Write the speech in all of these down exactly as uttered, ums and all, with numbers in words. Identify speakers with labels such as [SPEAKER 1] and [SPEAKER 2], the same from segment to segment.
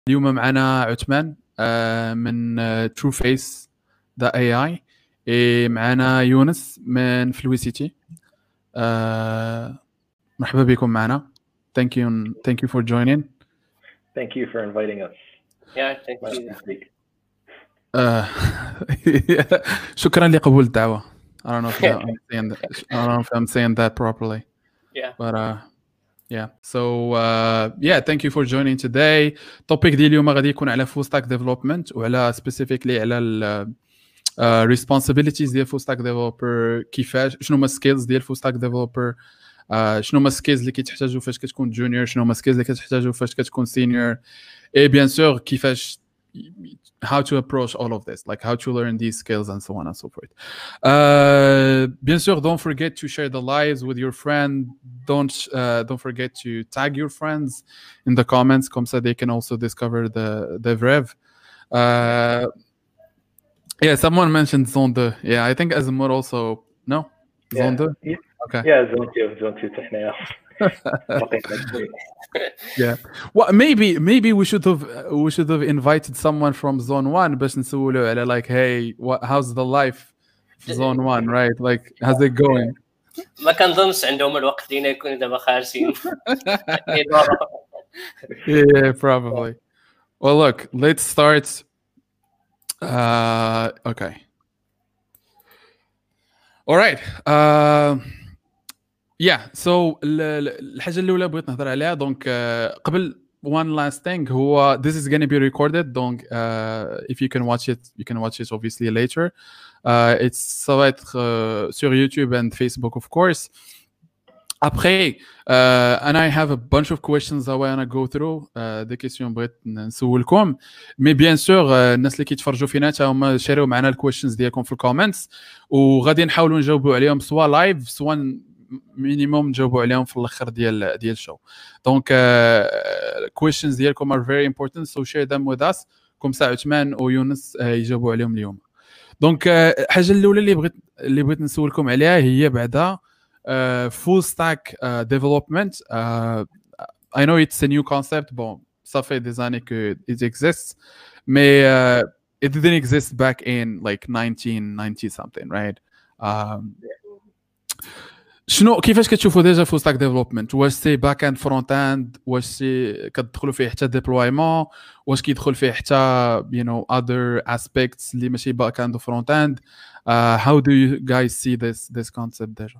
[SPEAKER 1] اليوم معنا عثمان آه، من ترو فيس دا اي اي، معنا يونس من فلويسيتي. آه، مرحبا بكم معنا. thank you thank you for joining.
[SPEAKER 2] Thank you for inviting us.
[SPEAKER 3] Yeah, thank you.
[SPEAKER 1] آه، شكرا لقبول الدعوة. I don't know if that, I'm saying that, I don't know if I'm saying that properly.
[SPEAKER 3] Yeah.
[SPEAKER 1] But uh, yeah. So uh, yeah, thank you for joining today. topic ديال اليوم غادي يكون على full stack development وعلى specifically على ال uh, responsibilities ديال full stack developer، كيفاش شنو هما skills ديال full stack developer، uh, شنو هما skills اللي كيتحتاجوا فاش كتكون junior، شنو هما skills اللي كتحتاجوا فاش كتكون senior، et bien sûr كيفاش how to approach all of this, like how to learn these skills and so on and so forth. Uh, bien sûr, don't forget to share the lives with your friend. Don't uh, don't forget to tag your friends in the comments, comme ça they can also discover the the Vrev. Uh, yeah, someone mentioned Zone two. Yeah, I think Azimur also. No, Zone two.
[SPEAKER 2] Yeah.
[SPEAKER 1] Okay.
[SPEAKER 2] Yeah, Zone two, Zone two تحنا.
[SPEAKER 1] Yeah. Well, maybe maybe we should have we should have invited someone from Zone one باش نسولو على like, hey, what how's the life في Zone one, right? Like, how's it going?
[SPEAKER 3] ما كنظنش عندهم الوقت دينا يكونوا دابا خارجين.
[SPEAKER 1] Yeah, probably. Well, look, let's start. Uh, okay. All right. Uh, yeah. So الحاجة الأولى بغيت نهضر عليها دونك قبل one last thing هو this is going to be recorded, donc uh, if you can watch it you can watch it obviously later. Uh, it's ça va être uh, sur YouTube and Facebook of course. Après, uh, and I have a bunch of questions I want to go through. uh, des questions بغيت نسولكم، مي bien sûr الناس اللي كيتفرجوا فينا حتى هما شاريو معنا الكويشنز ديالكم في الكومنتس، وغادي نحاولوا نجاوبوا عليهم سواء لايف سواء مينيموم نجاوبوا عليهم في الاخر ديال ديال الشو. دونك questions ديالكم are very important, so share them with us كم ساعه عثمان ويونس يجاوبوا عليهم اليوم. دونك الحاجه الاولى اللي بغيت اللي بغيت نسولكم عليها هي بعدا Uh, full stack uh, development. Uh, I know it's a new concept. Bon, ça fait des années que it exists, mais uh, it didn't exist back in like nineteen ninety something, right? Um, شنو كيفاش كتشوفوا ديجا full stack development؟ واش سي باك اند فرونت اند، واش سي كتدخلوا فيه حتى ديبلويمون، واش كيدخل فيه حتى you know other aspects اللي ماشي باك اند وفرونت اند؟ uh, how do you guys see this this concept ديجا؟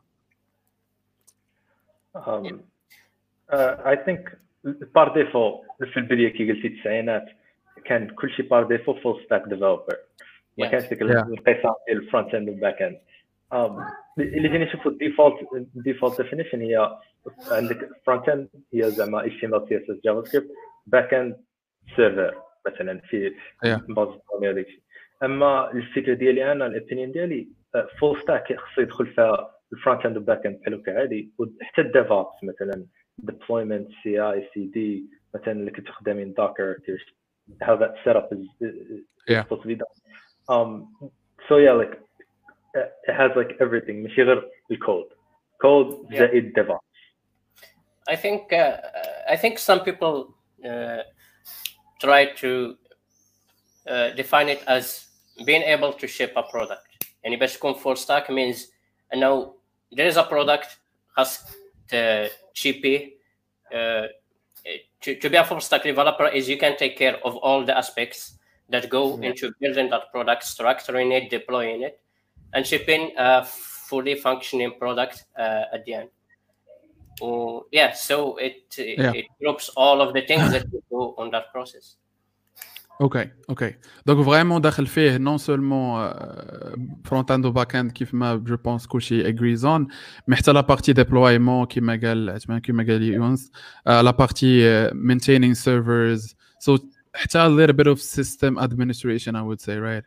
[SPEAKER 2] Um, uh, I think par défaut في البداية كي قلتي التسعينات كان كل شيء par défaut full stack developer. ما كانش ديك القصة ديال الفرونت اند والباك اند. اللي جينا نشوفوا الديفولت الديفولت ديفينيشن هي عندك فرونت اند هي زعما اتش تي ام ال سي اس اس جافا سكريبت، باك اند سيرفر مثلا في باز ديال. اما الفكره ديالي انا الابينيون ديالي فول ستاك خصو يدخل فيها الفرونت اند والباك اند بحال هكا عادي، وحتى الديفوبس مثلا deployment سي اي سي دي مثلا اللي كتخدمين دوكر how that setup is, is supposed to be done. Um, so yeah, like it has like everything ماشي غير الكود كود زائد DevOps.
[SPEAKER 3] I think uh, I think some people uh, try to uh, define it as being able to ship a product. يعني باش تكون full stack means انه there is a product has to ship uh, to, to be a full stack developer is you can take care of all the aspects that go yeah. into building that product, structuring it, deploying it, and shipping a fully functioning product uh, at the end. Oh, yeah, so it yeah. it groups all of the things that you do on that process.
[SPEAKER 1] اوكي اوكي دونك فريمون داخل فيه نون سولمون فرونت اند وباك اند كيف ما جو بونس كلشي اغريزون، مي حتى لا بارتي ديبلويمون كيما قال عثمان كيما قال يونس، لا بارتي مينتينينغ سيرفرز، سو حتى a little bit of system administration I would say, right?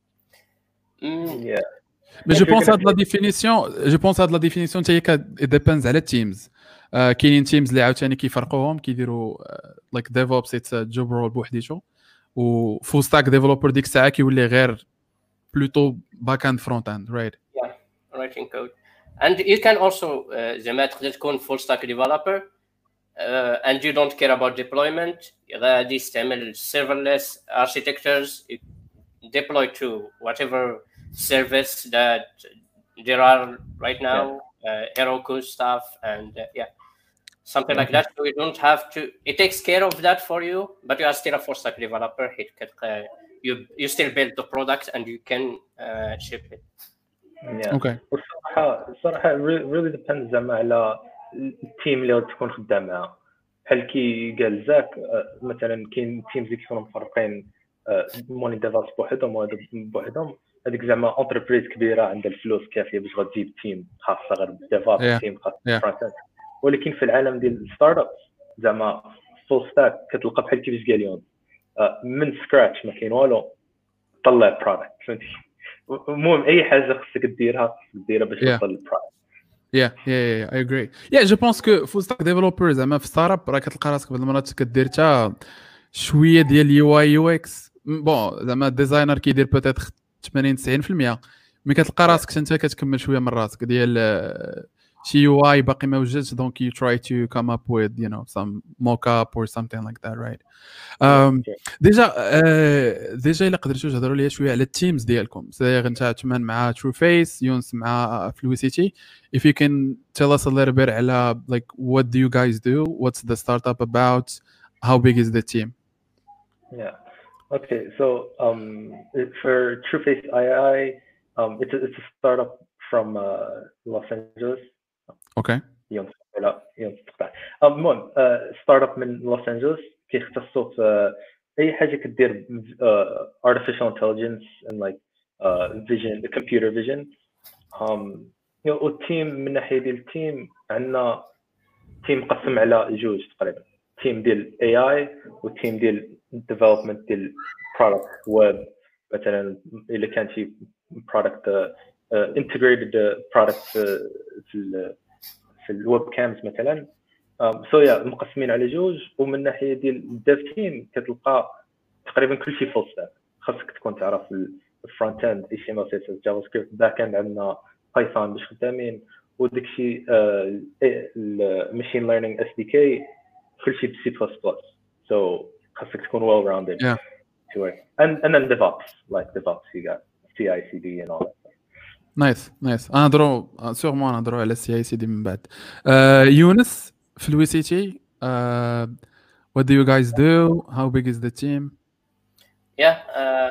[SPEAKER 3] Mm.
[SPEAKER 2] Yeah.
[SPEAKER 1] Mais je pense à de la définition, je pense à de la définition تاهي it depends على teams. كاينين teams اللي عاوتاني كيفرقوهم كيديروا like DevOps it's a job role بوحديتو، و full stack developer ديك الساعه كيولي غير plutôt back end front end, right?
[SPEAKER 3] Yeah, writing code. And you can also زعما تقدر تكون full stack developer uh, and you don't care about deployment, غادي تستعمل serverless architectures, deploy to whatever service that there are right now, yeah. uh, Heroku stuff, and uh, yeah, something like that. So you don't have to. It takes care of that for you, but you are still a full stack developer. You you still build the product and you can uh, ship it.
[SPEAKER 2] Yeah.
[SPEAKER 1] Okay.
[SPEAKER 2] الصراحة الصراحة really depends زعما على التيم اللي غتكون خدام معاه. بحال كي قال زاك مثلا كاين تيمز اللي كيكونوا مفرقين موني ديفلوبرز بوحدهم وهذا بوحدهم، هذيك زعما انتربريز كبيره عندها الفلوس كافيه باش غتجيب تيم خاصه غير بالديفلوب تيم خاص بالفرونت. ولكن في العالم ديال الستارت اب زعما فول ستاك كتلقى بحال كيفاش قال يون من سكراتش ما كاين والو طلع برودكت فهمتي. المهم اي حاجه خصك ديرها ديرها باش توصل للبرودكت.
[SPEAKER 1] Yeah, yeah, yeah, I agree. Yeah, je pense que full stack developer زعما في ستارت اب راه كتلقى راسك بعض المرات كدير حتى شويه ديال اليو اي يو اكس. بون زعما الديزاينر كيدير بوتيتر ثمانين تسعين بالمية، ملي كتلقى راسك انت كتكمل شويه من راسك ديال شي يو اي باقي ما وجدش، دونك you try to come up with you know some mock-up or something like that, right? um, ديجا ديجا الا قدرتوا تهضروا ليا شويه على التيمز ديالكم، صغير انت عثمان مع TrueFace، يونس مع Fluicity. If you can tell us a little bit على like what do you guys do, what's the startup about, how big is the team?
[SPEAKER 2] Yeah. Okay, so um, for TrueFace I I, um, it's a, it's a startup from uh, Los Angeles.
[SPEAKER 1] Okay.
[SPEAKER 2] يوم لا يوم تقطع. المهم ستارت اب من لوس انجلوس كيختصوا في اي حاجه كدير uh, artificial intelligence and like uh, vision, computer vision. um you know التيم من ناحيه ديال التيم عندنا تيم مقسم على جوج تقريبا، تيم ديال اي اي وتيم ديال development ديال product web. مثلا الا كان شي product uh, uh, integrated product في في في الويب كامز مثلا. سو يا مقسمين على جوج. ومن ناحيه ديال الديف تيم كتلقى تقريبا كل شيء فول ستاك، خاصك تكون تعرف الفرونت اند اتش تي ام ال سي اس اس جافا سكريبت، باك اند عندنا بايثون باش خدامين، وداك الشيء الماشين ليرنينغ اس دي كي كل شيء بسي بلس بلس. سو خاصك تكون ويل راوندد to work. and and then DevOps, like DevOps you got C I C D and all that.
[SPEAKER 1] نايس نايس. انا نهضروا سيغمون نهضروا على السي اي سي دي من بعد. uh, يونس Fluicity, uh, what do you guys do, how big is the team?
[SPEAKER 3] Yeah, uh,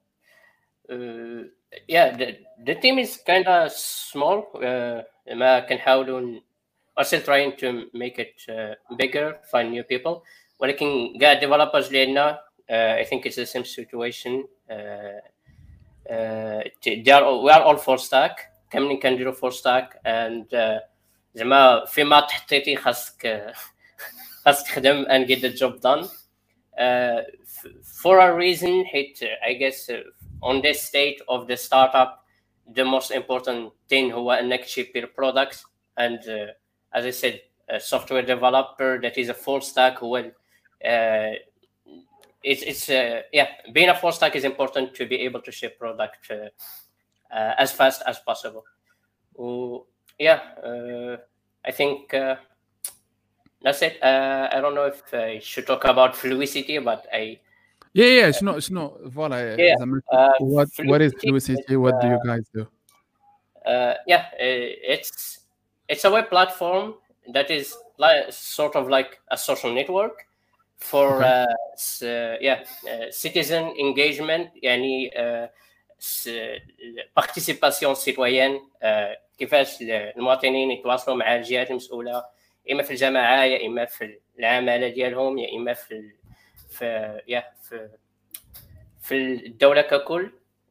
[SPEAKER 3] uh, yeah the, the team is kind of small. uh, ما كنحاولوا are still trying to make it uh, bigger, find new people. ولكن كاع developers اللي عندنا uh, I think it's the same situation. uh, Uh, they are all, we are all full stack. كاملين كنديروا full stack and uh, زعما فيما تحطيتي خاصك خاصك تخدم and get the job done uh, for a reason. حيت I guess uh, on this state of the startup the most important thing هو انك تشيب your product. and uh, as I said, a software developer that is a full stack who will uh, It's it's uh, yeah. Being a full stack is important to be able to ship product uh, uh, as fast as possible. Uh, yeah, uh, I think uh, that's it. Uh, I don't know if I should talk about Fluicity, but I.
[SPEAKER 1] Yeah, yeah. شنو شنو voilà.
[SPEAKER 3] Yeah.
[SPEAKER 1] Uh, what what is Fluicity? What do you guys do?
[SPEAKER 3] Uh, yeah, it's it's a web platform that is like sort of like a social network for okay. uh, uh, yeah uh, citizen engagement. يعني uh, participation citoyenne. uh, كيفاش المواطنين يتواصلوا مع الجهات المسؤوله، اما في الجماعه يا اما في العماله ديالهم يا اما في في يا في في الدوله ككل.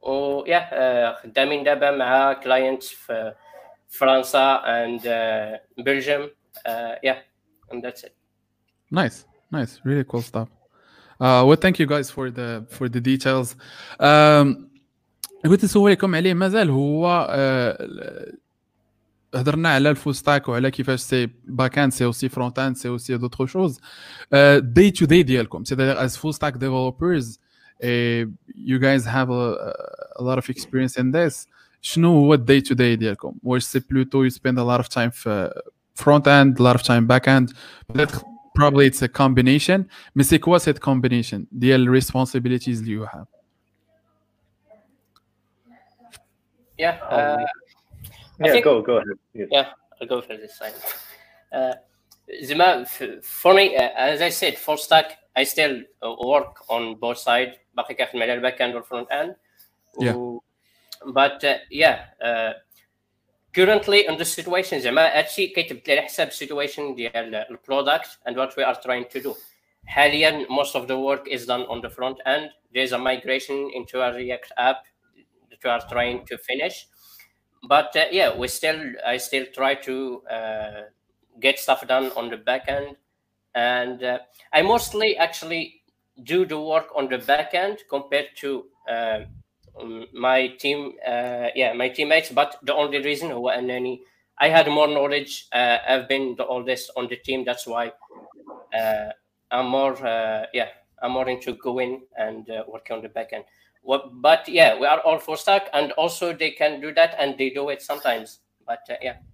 [SPEAKER 3] ويا خدامين دابا مع كلاينتس في فرنسا and uh, Belgium. uh, yeah and that's it.
[SPEAKER 1] Nice. Nice, really cool stuff. Uh, well, thank you guys for the for the details. Um, قلت نسولكم عليه مازال هو uh, هضرنا على الفول ستاك وعلى كيفاش سي باك اند سي اوسي فرونت اند سي اوسي دوطخ شوز. داي تو داي ديالكم c'est-à-dire as full stack developers uh, you guys have a, a lot of experience in this. شنو هو الداي تو داي ديالكم؟ واش سي بلوتو you spend a lot of time في front end, a lot of time back end؟ probably it's a combination. Mais c'est quoi cette combination ديال responsibilities اللي you have?
[SPEAKER 3] Yeah. Uh,
[SPEAKER 2] yeah,
[SPEAKER 3] think,
[SPEAKER 2] go go ahead. Yes.
[SPEAKER 3] Yeah, I'll go for this side. Uh, Zima, for me, uh, as I said, full stack, I still uh, work on both sides. باقي كنخدم على الباك اند والفرونت اند.
[SPEAKER 1] Yeah.
[SPEAKER 3] But uh, yeah, uh, currently in this situation, زعما هادشي كيتبدل على حساب situation ديال البرودكت and what we are trying to do. حاليا most of the work is done on the front end. There's a migration into a React app that we are trying to finish. But uh, yeah, we still I still try to uh, get stuff done on the back end, and uh, I mostly actually do the work on the back end compared to uh, my team. Uh, yeah, my teammates. But the only reason هو أنني I had more knowledge. Uh, I've been the oldest on the team. That's why uh, I'm more uh, yeah I'm more into going and uh, working on the back end. But yeah, we are all full stack, and also they can do that, and they do it sometimes. But uh, yeah.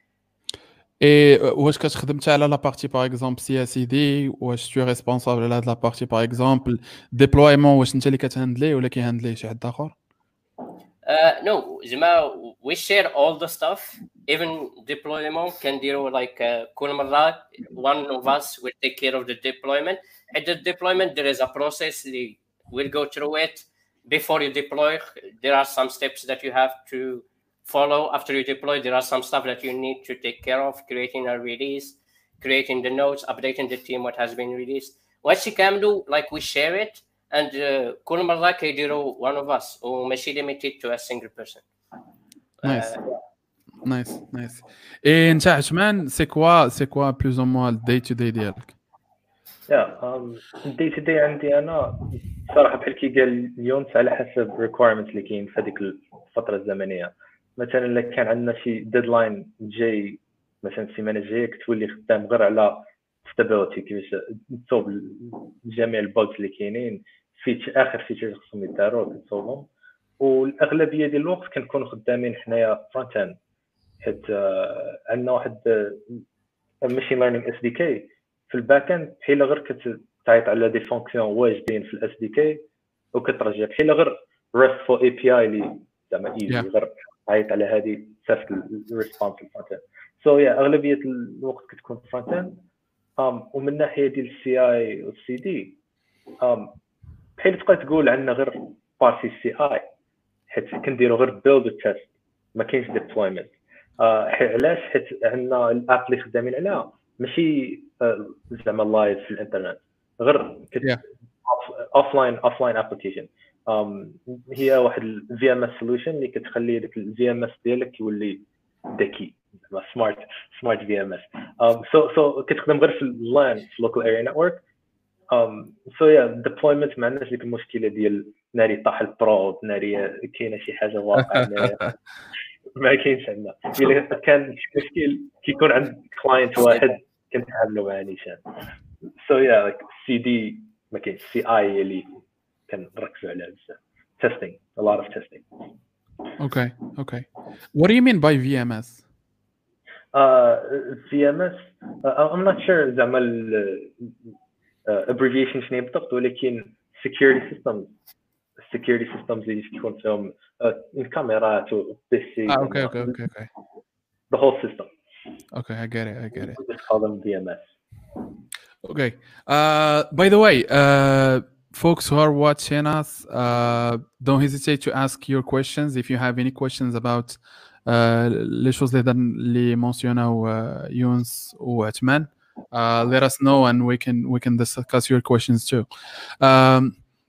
[SPEAKER 1] Et واش كتخدم حتى على لا بارتي باغ اكزومبل سي اس دي واش tu es responsable على هاد لا بارتي باغ اكزومبل ديبلويمون واش انت اللي كتهندلي ولا كيهندليه شي حد اخر؟
[SPEAKER 3] Uh, no, زعما we share all the stuff. Even deployment can do like uh, كل مرة one of us will take care of the deployment. At the deployment there is a process. We'll go through it. Before you deploy, there are some steps that you have to follow. After you deploy, there are some stuff that you need to take care of, creating a release, creating the notes, updating the team what has been released. What you can do, like we share it, and كل مرة كيديروا one of us وماشي limited to a single person.
[SPEAKER 1] Nice. Uh, nice, nice. Et انت عثمان c'est quoi c'est quoi plus ou moins le day to day ديالك؟
[SPEAKER 2] يا الدي تو دي عندي انا صراحه بحال كي قال اليوم على حسب الريكوايرمنت اللي كاين في هذيك الفتره الزمنيه. مثلا الا كان عندنا شي ديدلاين جاي مثلا السيمانه الجايه كتولي خدام غير على ستابيليتي كيفاش تصوب جميع البوجز اللي كاينين في اخر فيتشرز خصهم يداروا كتصوبهم. والاغلبيه ديال الوقت كنكونوا خدامين حنايا فرونت اند حيت عندنا واحد ماشين ليرنينغ اس دي كي في الباك اند بحال غير كتعيط على دي فونكسيون واجدين في الاس دي كي وكترجع بحال غير ريستفول اي بي اي اللي زعما ايزي غير عيط على هذه صافي الريسبونس الفرونت اند. سو يا اغلبيه الوقت كتكون فرونت اند. ام ومن ناحيه ديال السي اي والسي دي ام بحال تبقى تقول عندنا غير بارتي سي اي حيت كنديروا غير بيلد وتيست ما كاينش ديبلويمنت. علاش؟ حيت عندنا الاب اللي خدامين عليها ماشي زعما لايف في الانترنت غير اوف لاين اوف لاين ابليكيشن. هي واحد الفي ام اس سوليوشن اللي كتخلي داك الفي ام اس ديالك يولي ذكي سمارت سمارت في ام اس. سو سو كتخدم غير في اللان في لوكال اريا نتورك. سو يا ديبلويمنت ما عندناش ديك المشكله ديال ناري طاح البرود ناري كاينه شي حاجه واقعه ما كاينش عندنا. الا كان شي مشكل كيكون عند كلاينت واحد كنتعاملوا معاه نيشان. سو يا لايك سي دي ما كاينش سي اي اللي كنركزوا عليها بزاف. testing a lot of testing.
[SPEAKER 1] Okay, okay. What do you mean by V M S?
[SPEAKER 2] Uh, V M S uh, I'm not sure زعما uh, abbreviation شنو بالضبط ولكن security systems security systems اللي تكون فيهم الكاميرات والبيسي.
[SPEAKER 1] Ah, okay, okay, okay, okay.
[SPEAKER 2] The whole system.
[SPEAKER 1] Okay, I get it, I get it.
[SPEAKER 2] We just call them V M S.
[SPEAKER 1] Okay. Uh, by the way, uh, folks who are watching us, uh, don't hesitate to ask your questions if you have any questions about uh, les choses les mentionnaient uh, Younes ou Atman. Uh, let us know and we can we can discuss your questions too. Um,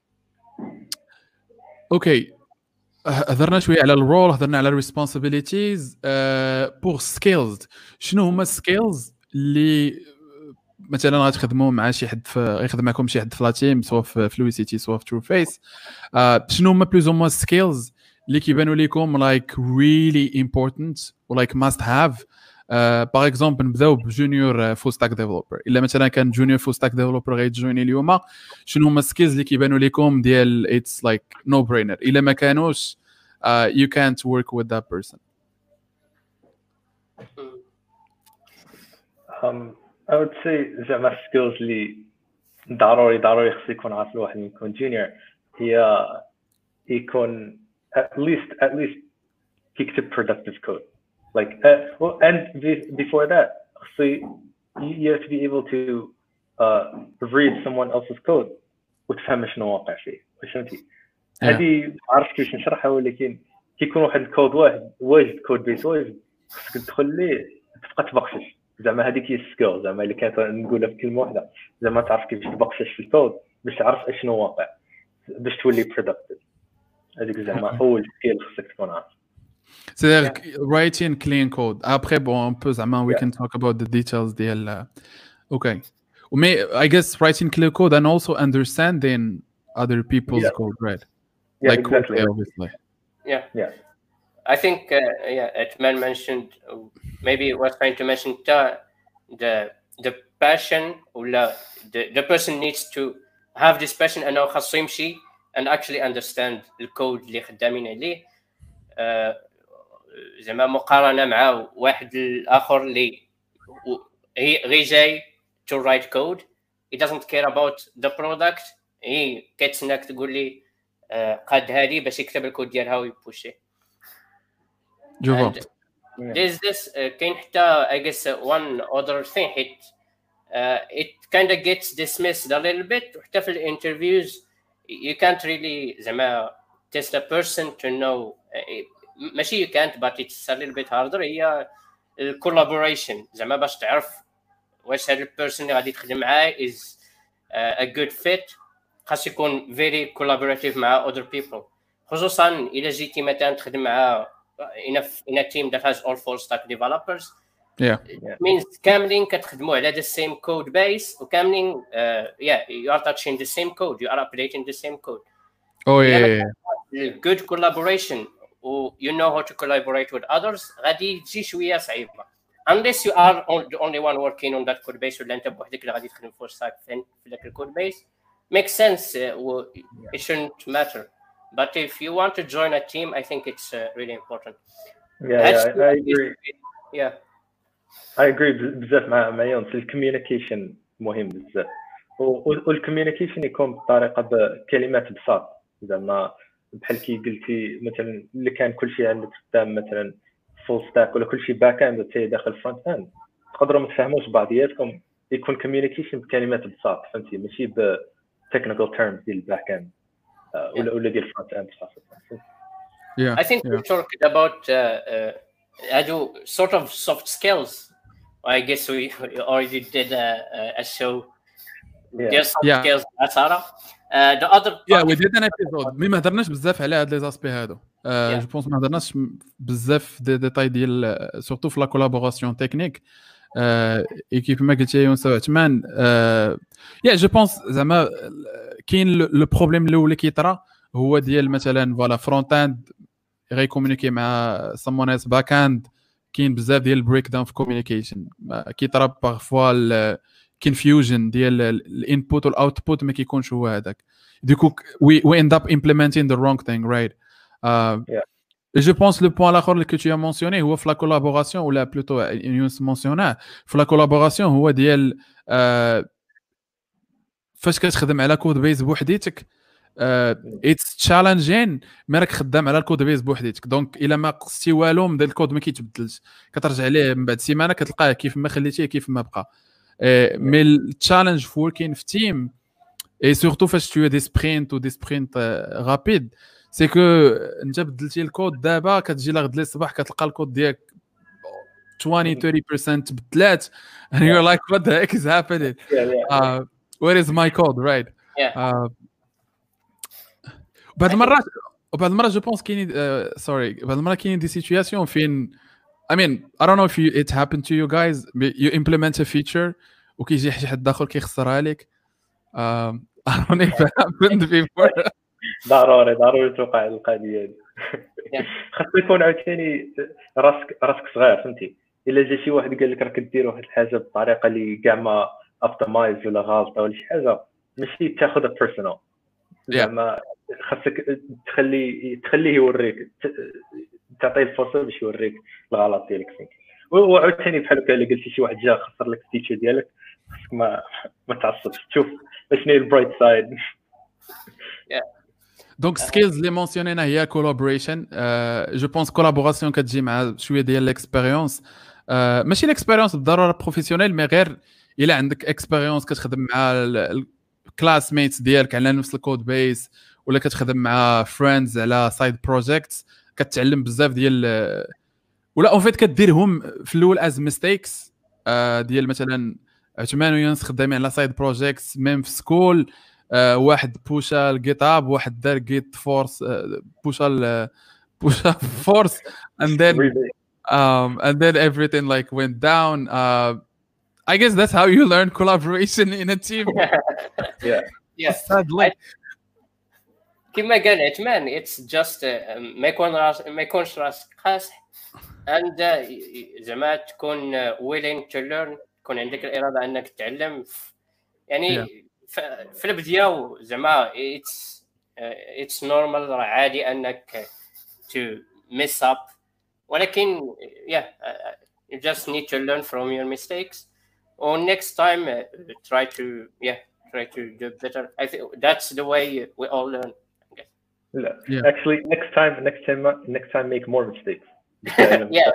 [SPEAKER 1] okay. هضرنا شويه على الرول هضرنا على الريسبونسابيلتيز بور سكيلز. شنو هما السكيلز اللي مثلا غتخدموا مع شي حد في يخدم معكم شي حد في لا تيم سواء في فلويسيتي سواء في ترو فيس؟ شنو هما بلوز هما السكيلز اللي كيبانوا لكم لايك ريلي امبورتانت ولايك ماست هاف؟ باغ اكزومبل نبداو بجونيور فول ستاك ديفلوبر. الا مثلا كان جونيور فول ستاك ديفلوبر غيتجويني اليوم شنو هما السكيلز اللي كيبانوا لكم ديال اتس لايك نو برينر؟ الا ما كانوش uh, you can't work with that person.
[SPEAKER 2] um I would say زعما skills اللي ضروري ضروري خص يكون عارف الواحد من يكون جونيور هي يكون at least at least يكتب productive code like uh, well, and before that so you have to be able to uh, read someone else's code وتفهم شنو واقع فيه فهمتي هذه عرفت كيفاش نشرحها ولكن كيكون واحد الكود واحد واجد كود بيس واجد خصك تدخل ليه تبقى تبقشش زعما هذيك هي السكيل زعما اللي كانت نقولها في كلمه واحده زعما تعرف كيفاش تبقشش في الكود باش تعرف اشنو واقع باش تولي برودكتيف هذيك زعما اول سكيل خصك تكون عارف.
[SPEAKER 1] C'est-à-dire writing clean code. Après bon on peut زعما we can talk about the details ديال okay. Mais I guess writing clear code and also understanding other people's
[SPEAKER 2] yeah.
[SPEAKER 1] code, right?
[SPEAKER 2] Yeah,
[SPEAKER 1] like
[SPEAKER 2] exactly.
[SPEAKER 1] Code, obviously.
[SPEAKER 3] Yeah.
[SPEAKER 2] Yeah.
[SPEAKER 3] I think uh, yeah, Atman mentioned uh, maybe was trying to mention uh, the the passion or the the person needs to have this passion and know خاصو يمشي and actually understand the code اللي خدامين عليه زعما مقارنة مع واحد الآخر اللي غير جاي to write code he doesn't care about the product هي كتسناك تقول لي قاد هذه باش يكتب الكود ديالها ويبوشي.
[SPEAKER 1] جو
[SPEAKER 3] There's this uh, كاين حتى I guess uh, one other thing it uh, it kind of gets dismissed a little bit وحتى في الانترفيوز you can't really زعما test a person to know uh, ماشي you can't but it's a little bit harder هي collaboration زعما باش تعرف واش هذا البيرسون اللي غادي تخدم معاه is uh, a good fit خاص يكون very collaborative مع other people خصوصا الا جيتي مثلا تخدم مع in a, in a team that has all full stack developers
[SPEAKER 1] yeah
[SPEAKER 3] it means كاملين كتخدموا على the same code base وكاملين uh, yeah you are touching the same code you are updating the same code
[SPEAKER 1] oh yeah, yeah.
[SPEAKER 3] good collaboration و you know how to collaborate with others غادي تجي شويه صعيبه unless you are the only one working on that code base ولا انت بوحدك اللي غادي تخدم full stack في ذاك الكود base makes sense uh, it shouldn't matter but if you want to join a team I think it's uh, really important.
[SPEAKER 2] Yeah, yeah I, I agree.
[SPEAKER 3] Yeah
[SPEAKER 2] I agree بزاف مع مع يونس الكوميونيكيشن مهم بزاف والكوميونيكيشن يكون بطريقه بكلمات بساط زعما بحال كي قلتي مثلا اللي كان كل شيء عندك قدام مثلا فول ستاك ولا كل شيء باك اند حتى داخل فرونت اند تقدروا ما تفهموش بعضياتكم يكون كوميونيكيشن بكلمات بساط فهمتي ماشي ب technical terms ديال الباك اند ولا ولا ديال الفرونت اند خاصه.
[SPEAKER 3] Yeah I think yeah. we talked about uh, uh, ado sort of soft skills I guess we already did a, a show
[SPEAKER 2] yeah.
[SPEAKER 3] there's soft
[SPEAKER 1] yeah.
[SPEAKER 3] skills Sarah uh, the other
[SPEAKER 1] yeah we did an episode مي ما هضرناش بزاف على هاد لي زاسبي هادو جو بونس ما هضرناش بزاف دي ديتاي ديال سورتو في لا كولابوراسيون تكنيك اي كيف ما قلت يا يونس عثمان يا جو بونس زعما كاين لو بروبليم الاول اللي كيطرا هو ديال مثلا فوالا فرونت اند غيكومونيكي مع someone else باك اند كاين بزاف ديال البريك داون في كوميونيكيشن كيطرا بارفوا الكونفيوجن ديال الانبوت والاوتبوت ما كيكونش هو هذاك دوكو وي وي اند اب امبليمنتين ذا رونغ ثينغ رايت. جو بونس لو بوين الاخر اللي كنتي مونسيوني هو في لا كولابوراسيون ولا بلوتو يونس مونسيوناه في لا كولابوراسيون هو ديال فاش كتخدم على كود بيز بوحديتك اتس تشالنجين مي راك خدام على الكود بيز بوحديتك دونك الا ما قصتي والو من الكود ما كيتبدلش كترجع ليه من بعد سيمانه كتلقاه كيف ما خليتيه كيف ما بقى مي التشالنج في وركين في تيم اي سورتو فاش تو دي سبرينت و دي سبرينت رابيد سي كو انت بدلتي الكود دابا كتجي لغد لي الصباح كتلقى الكود ديالك twenty thirty percent تبدلات and you're like what the heck is happening
[SPEAKER 2] yeah, yeah.
[SPEAKER 1] Uh, where is my code right
[SPEAKER 3] yeah
[SPEAKER 1] uh, بعض المرات بعض المرات جو بونس كاين سوري بعض المرات كاين دي سيتوياسيون فين I mean I don't know if you, it happened to you guys you implement a feature وكيجي شي حد اخر كيخسرها لك um, I don't know if it happened before
[SPEAKER 2] ضروري ضروري توقع القضيه هذه خاص يكون عاوتاني راسك راسك صغير فهمتي الا جا شي واحد قال لك راك دير واحد الحاجه بالطريقه اللي كاع ما اوبتمايز ولا غلطه ولا شي حاجه ماشي تاخذها بيرسونال زعما خاصك تخلي تخليه يوريك تعطيه الفرصه باش يوريك الغلط ديالك فين وعاوتاني بحال هكا الا قلتي شي واحد جا خسر لك التيتشر ديالك خصك ما ما تعصبش تشوف شنو هي البرايت سايد.
[SPEAKER 1] دونك سكيلز اللي مونسيونينا هي كولابوريشن. جو بونس كولابوراسيون كتجي مع شويه ديال ليكسبيريونس، ماشي ليكسبيريونس بالضروره بروفيسيونيل، مي غير الا عندك اكسبيريونس كتخدم مع الكلاس ميتس ديالك على نفس الكود بيس، ولا كتخدم مع فريندز على سايد بروجيكتس، كتعلم بزاف ديال، ولا اون فيت كديرهم في الاول از ميستيكس ديال مثلا عثمان ويونس خدامين على سايد بروجيكتس ميم في سكول. Uh, واحد بوشا الجيت اب، واحد دار جيت فورس بوشا بوشا فورس and then um and then everything like went down. uh, I guess that's how you learn collaboration in a team.
[SPEAKER 2] yeah
[SPEAKER 3] yeah
[SPEAKER 1] sadly
[SPEAKER 3] كما قال عثمان it's just uh, ما يكون راس ما يكونش راسك قاصح and uh, زعما تكون uh, willing to learn، تكون عندك الإرادة أنك تتعلم يعني. yeah. في البداية زعما it's uh, it's normal، راه عادي انك to mess up، ولكن yeah uh, you just need to learn from your mistakes or next time uh, try to yeah try to do better. I think that's the way we all learn.
[SPEAKER 2] Yeah. Actually next time next time next time make more mistakes.
[SPEAKER 3] yeah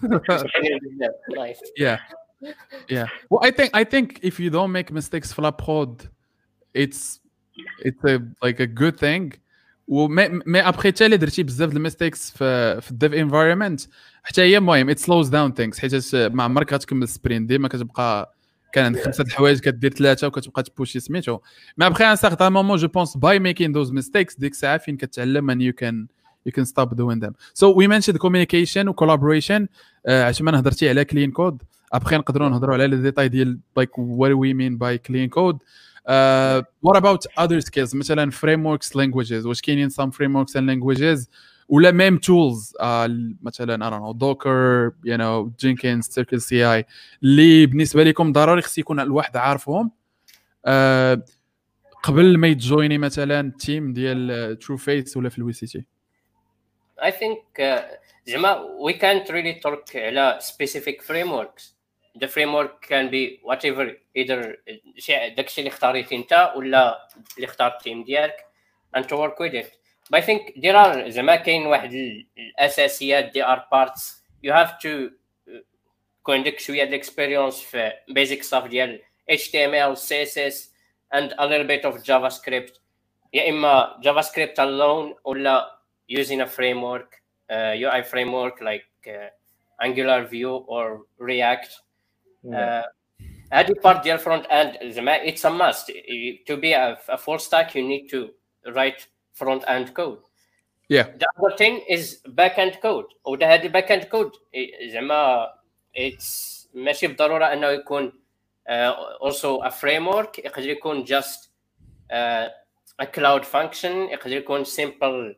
[SPEAKER 1] nice. yeah yeah well I think I think if you don't make mistakes في prod it's it's a like a good thing. وما ما ابخي حتى اللي درتي بزاف د الميستيكس في في الديف انفايرمنت حتى هي المهم it slows down things، حيت ما عمرك غتكمل سبرين، ديما كتبقى كان عندك خمسه الحوايج كدير ثلاثه وكتبقى تبوشي سميتو. ما ابخي ان سارتان مومون جو بونس باي ميكين دوز ميستيكس ديك الساعه فين كتعلم and you can you can stop doing them. So we mentioned communication و collaboration. uh, عشان ما هضرتي على clean code، ابخي نقدروا نهضروا على لي ديتاي ديال like what do we mean by clean code. Uh, what about other skills مثلا frameworks languages؟ واش كاينين some frameworks and languages ولا même tools uh, مثلا I don't know Docker you know Jenkins Circle سي آي اللي بالنسبه لكم ضروري خص يكون الواحد عارفهم uh, قبل ما يتجويني مثلا تيم ديال True Face ولا في الوي سي تي؟
[SPEAKER 3] I think uh, زعما we can't really talk على specific frameworks. The framework can be whatever either شيء داكشي اللي اختاريتي انت ولا اللي اختار التيم ديالك and to work with it. But I think there are زعما كاين واحد الاساسيات there are parts you have to يكون عندك شويه د experience في basic stuff ديال إتش تي إم إل سي إس إس and a little bit of JavaScript، يا اما JavaScript alone ولا using a framework uh, U I framework like uh, Angular Vue or React. هذه uh, part ديال front end زعما it's a must to be a, a full stack. You need to write front end code.
[SPEAKER 1] Yeah.
[SPEAKER 3] The other thing is back end code. وده هذه back end code زعما it's ماشي بالضرورة أنه يكون uh, also a framework. يقدر يكون just uh, a cloud function. يقدر يكون simple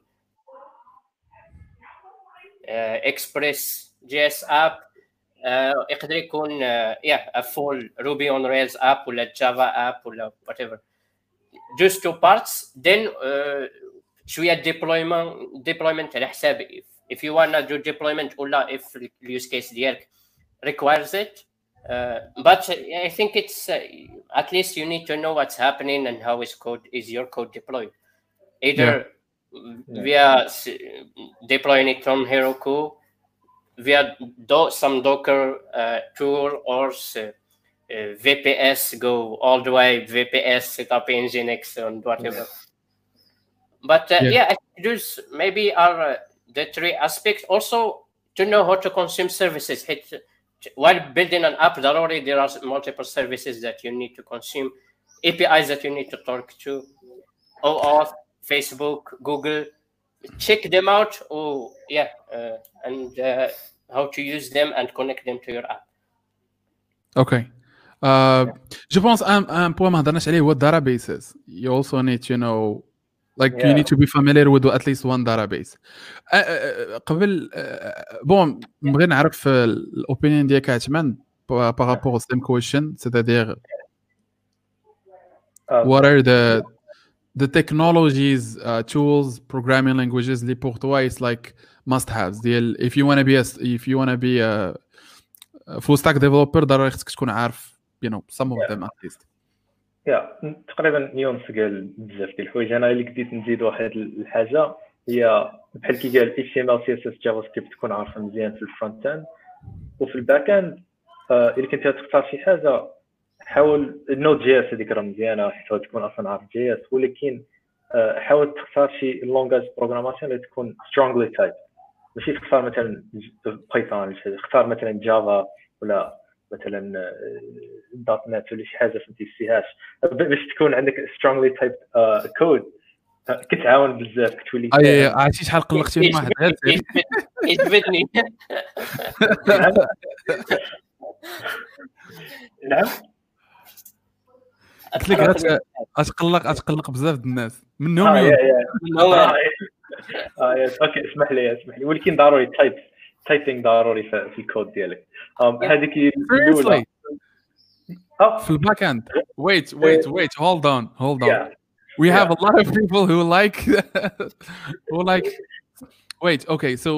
[SPEAKER 3] uh, Express جي إس app. Uh, يقدر يكون uh, yeah a full Ruby on Rails app ولا Java app ولا whatever. Just two parts. Then uh, شوية deployment deployment على حساب if you wanna do deployment ولا if the use case ديالك requires it. Uh, but I think it's uh, at least you need to know what's happening and how is code is your code deployed. Either yeah. via deploying it from Heroku, via do, some Docker uh, tool or uh, uh, V P S, go all the way V P S, set up Nginx and whatever. Yeah. But uh, yeah. yeah, I think those maybe are uh, the three aspects. Also, to know how to consume services. While building an app, already there are multiple services that you need to consume, A P Is that you need to talk to, OAuth, Facebook, Google. Check them out. Oh, yeah, uh, and uh, how to use them and connect them to your app.
[SPEAKER 1] Okay. Uh, je pense un un point ما هضرناش عليه هو databases. You also need to know, like yeah. you need to be familiar with at least one database. uh, uh, قبل uh, bon نبغي نعرف الopinion ديالك عثمان par rapport au same question, c'est-à-dire uh, what are the the technologies, uh, tools, programming languages اللي pour toi it's like must haves. if you want to be a if you want to be a فول ستاك ديفلوبر ضروري خصك تكون عارف you know some of them at least.
[SPEAKER 2] يا تقريبا نيونس قال بزاف ديال الحوايج. انا اللي بديت نزيد واحد الحاجه هي بحال كي قال اتش تي ام ال سي اس اس جافا سكريبت تكون عارفه مزيان في الفرونت اند وفي الباك اند. الا كنت تختار شي حاجه حاول النود جي اس هذيك راه مزيانه حيت تكون اصلا عارف جي اس، ولكن حاول تختار شي لونغاج بروغراماسيون اللي تكون سترونغلي تايب، ماشي تختار مثلا بايثون، اختار مثلا جافا ولا مثلا دوت نت ولا شي حاجه فهمتي فيهاش باش تكون عندك سترونغلي تايب كود كتعاون بزاف كتولي.
[SPEAKER 1] اي عرفتي شحال قلقتي من واحد غير
[SPEAKER 3] يجبدني.
[SPEAKER 2] نعم
[SPEAKER 1] قلت لك غتقلق غتقلق بزاف د الناس منهم
[SPEAKER 2] اه
[SPEAKER 1] يوم.
[SPEAKER 2] يا اه اوكي اسمح لي اسمح لي ولكن ضروري تايب تايبينغ ضروري في الكود ديالك. هذيك الاولى
[SPEAKER 1] في الباك اند. wait wait wait hold on hold on we have a lot of people who like who like wait okay so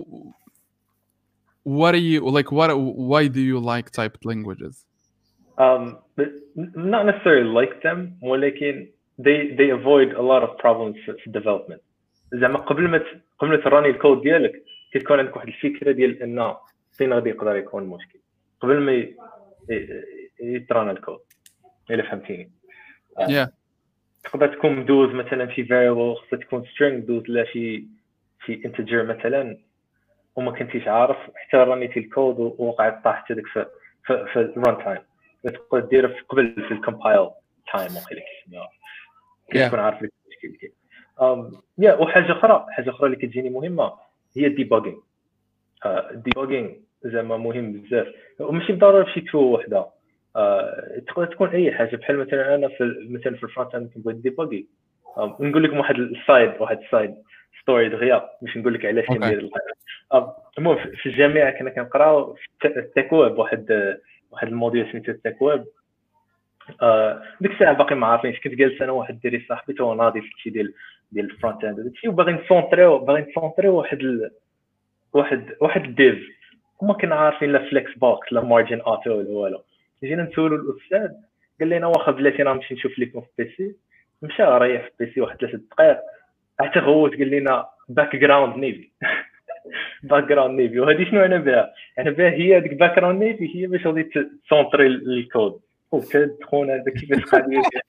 [SPEAKER 1] what are you like what why do you like typed languages?
[SPEAKER 2] um not necessarily like them ولكن they they avoid a lot of problems في development. زعما قبل ما قبل ما تراني الكود ديالك كتكون عندك واحد الفكره ديال ان فين غادي يقدر يكون المشكل قبل ما يترانا الكود. الا فهمتيني
[SPEAKER 1] yeah.
[SPEAKER 2] تقدر تكون مدوز مثلا شي variable خصها تكون string دوز لا شي شي integer مثلا وما كنتيش عارف حتى رانيتي الكود ووقعت طاحت هذيك في في, في الران تايم. تقدر ديرها في قبل في الكومبايل تايم وخليك كتكون عارف المشكل كاين. ام يا وحاجه اخرى حاجه اخرى اللي كتجيني مهمه هي الديباغينغ. الديباغينغ زعما مهم بزاف وماشي بالضروره في شي تو وحده. أه تقدر تكون اي حاجه بحال مثلا انا في مثلا في الفرونت اند كنبغي ديباغي. نقول لكم واحد السايد واحد السايد ستوري دغيا باش نقول لك علاش كندير الحاجه. المهم في الجامعه كنا كنقراو التيك ويب واحد واحد الموديول سميتو التيك ويب. آه ديك الساعه باقي ما عارفينش كنت جالس انا واحد الدري صاحبي تو ناضي في شي ديال ديال الفرونت اند داكشي وباغي نسونطريو باغي نسونطريو واحد ال... واحد واحد الديف وما كنا عارفين لا فليكس بوكس لا مارجن اوتو ولا والو. جينا نسولو الاستاذ قال لنا واخا بلاتي راه نمشي نشوف لكم في بيسي. مشى ريح في بيسي واحد ثلاثه دقائق حتى غوت قال لنا باك جراوند نيفي. باك جراوند نيفي وهذه شنو انا بها انا بها هي ديك باك جراوند نيفي هي باش غادي تسونطري الكود. وكتدخل هذا كيفاش قاعد يدير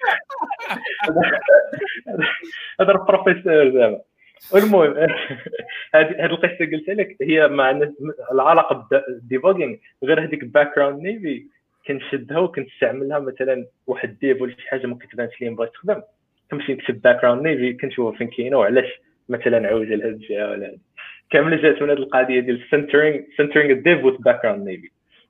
[SPEAKER 2] هذا البروفيسور زعما. المهم هذه القصه قلت لك هي مع العلاقه بالديباغينغ غير هذيك باك جراوند نيفي كنشدها وكنستعملها مثلا واحد ديف ولا شي حاجه ما كتبانش لي بغيت تخدم كنمشي نكتب باك جراوند نيفي كنشوف فين كاينه وعلاش مثلا عوجه لهاد الجهه ولا هذه كامله جات من هذه القضيه ديال سنترينغ سنترينغ الديف وذ باك جراوند نيفي.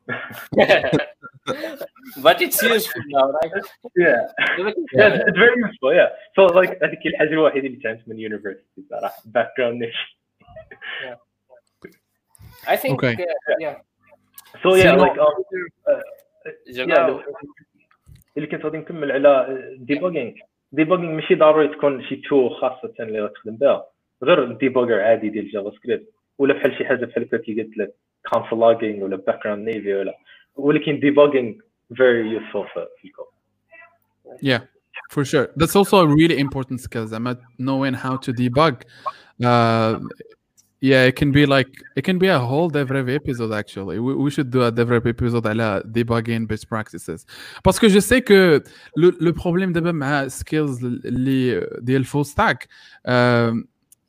[SPEAKER 3] But it's useful now, right?
[SPEAKER 2] Yeah, yeah, it's very useful. Yeah, so like هذيك الحاجه الوحيده اللي تعلمت من university صراحه background niche.
[SPEAKER 3] Yeah, I think.
[SPEAKER 1] Okay.
[SPEAKER 3] Uh, yeah.
[SPEAKER 2] So yeah, like um,
[SPEAKER 3] uh, yeah.
[SPEAKER 2] اللي كنت غادي نكمل على debugging. debugging ماشي ضروري تكون شي تو خاصه اللي غتخدم بها غير الديبوجر عادي ديال جافا سكريبت ولا بحال شي حاجه بحال كي قلت لك console logging ولا background navy ولا ولكن debugging very useful for people.
[SPEAKER 1] Yeah, for sure. That's also a really important skill. I'm knowing how to debug. Uh, yeah, it can be like it can be a whole DevRev episode actually. We, we should do a DevRev episode على debugging best practices. Parce que je sais que le, le problème d'abord مع skills اللي ديال full stack euh,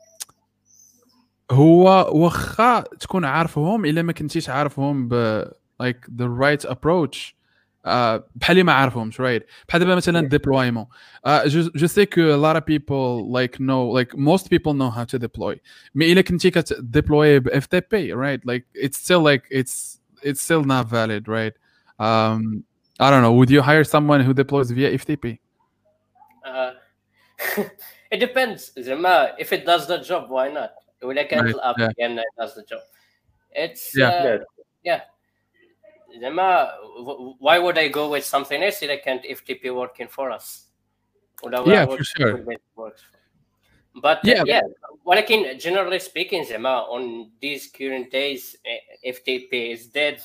[SPEAKER 1] هو واخا تكون عارفهم الا ما كنتيش عارفهم ب like the right approach uh, بحال ما عارفهمش right بحال دابا مثلا deployment uh, je, je sais que a lot of people like know like most people know how to deploy mais الا كنتي كتديبلوي ب F T P right like it's still like it's it's still not valid right um, I don't know would you hire someone who deploys via F T P?
[SPEAKER 3] Uh, it depends زعما if it does the job why not ولا كانت الاب again it does the job it's
[SPEAKER 1] yeah
[SPEAKER 3] uh, yeah زعما why would I go with something else that can't F T P working for us
[SPEAKER 1] yeah for sure
[SPEAKER 3] but
[SPEAKER 1] yeah,
[SPEAKER 3] uh, yeah ولكن generally speaking زعما on these current days F T P is dead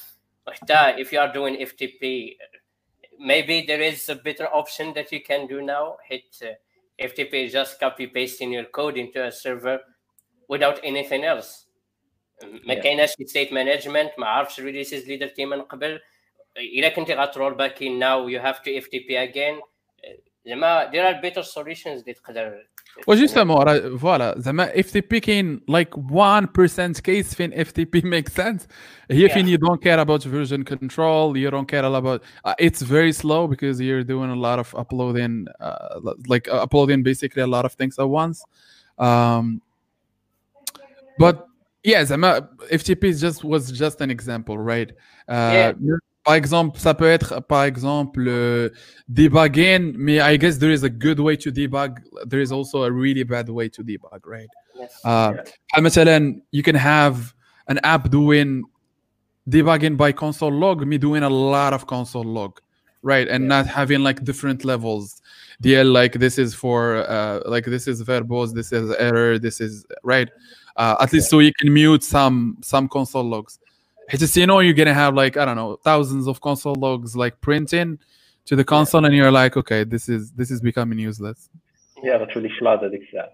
[SPEAKER 3] وحتى if you are doing F T P maybe there is a better option that you can do now. Hit uh, F T P is just copy pasting your code into a server without anything else. ما كايناش state management ما عرفتش releases اللي درتي من قبل. إلا كنتي غترول باك in now you have to F T P again. زعما there are better solutions اللي تقدر.
[SPEAKER 1] وجوستومون فوالا زعما F T P كاين like one percent case فين F T P makes sense. هي فين you don't care about version control, you don't care about uh, it's very slow because you're doing a lot of uploading uh, like uh, uploading basically a lot of things at once. Um, but yeah, زعما F T P just was just an example, right? Uh,
[SPEAKER 3] yeah.
[SPEAKER 1] Par exemple, ça peut être, par exemple, uh, debugging, mais I guess there is a good way to debug. There is also a really bad way to debug, right?
[SPEAKER 3] Yes.
[SPEAKER 1] Uh, yeah. مثلا, you can have an app doing debugging by console log, me doing a lot of console log, right? And yeah. not having like different levels. D L, like this is for, uh, like this is verbose, this is error, this is, right? Uh, at least yeah. so you can mute some some console logs. Because you know you're gonna have like I don't know thousands of console logs like printing to the console, yeah. and you're like, okay, this is this is becoming useless.
[SPEAKER 2] Yeah, that's really flat هذيك الساعة.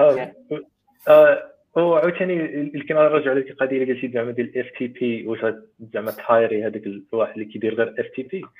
[SPEAKER 2] وعاوتاني اللي كنرجع لك القضية اللي قلتي زعما ديال اف تي بي واش زعما تهايري هذاك الواحد اللي كيدير غير اف تي بي.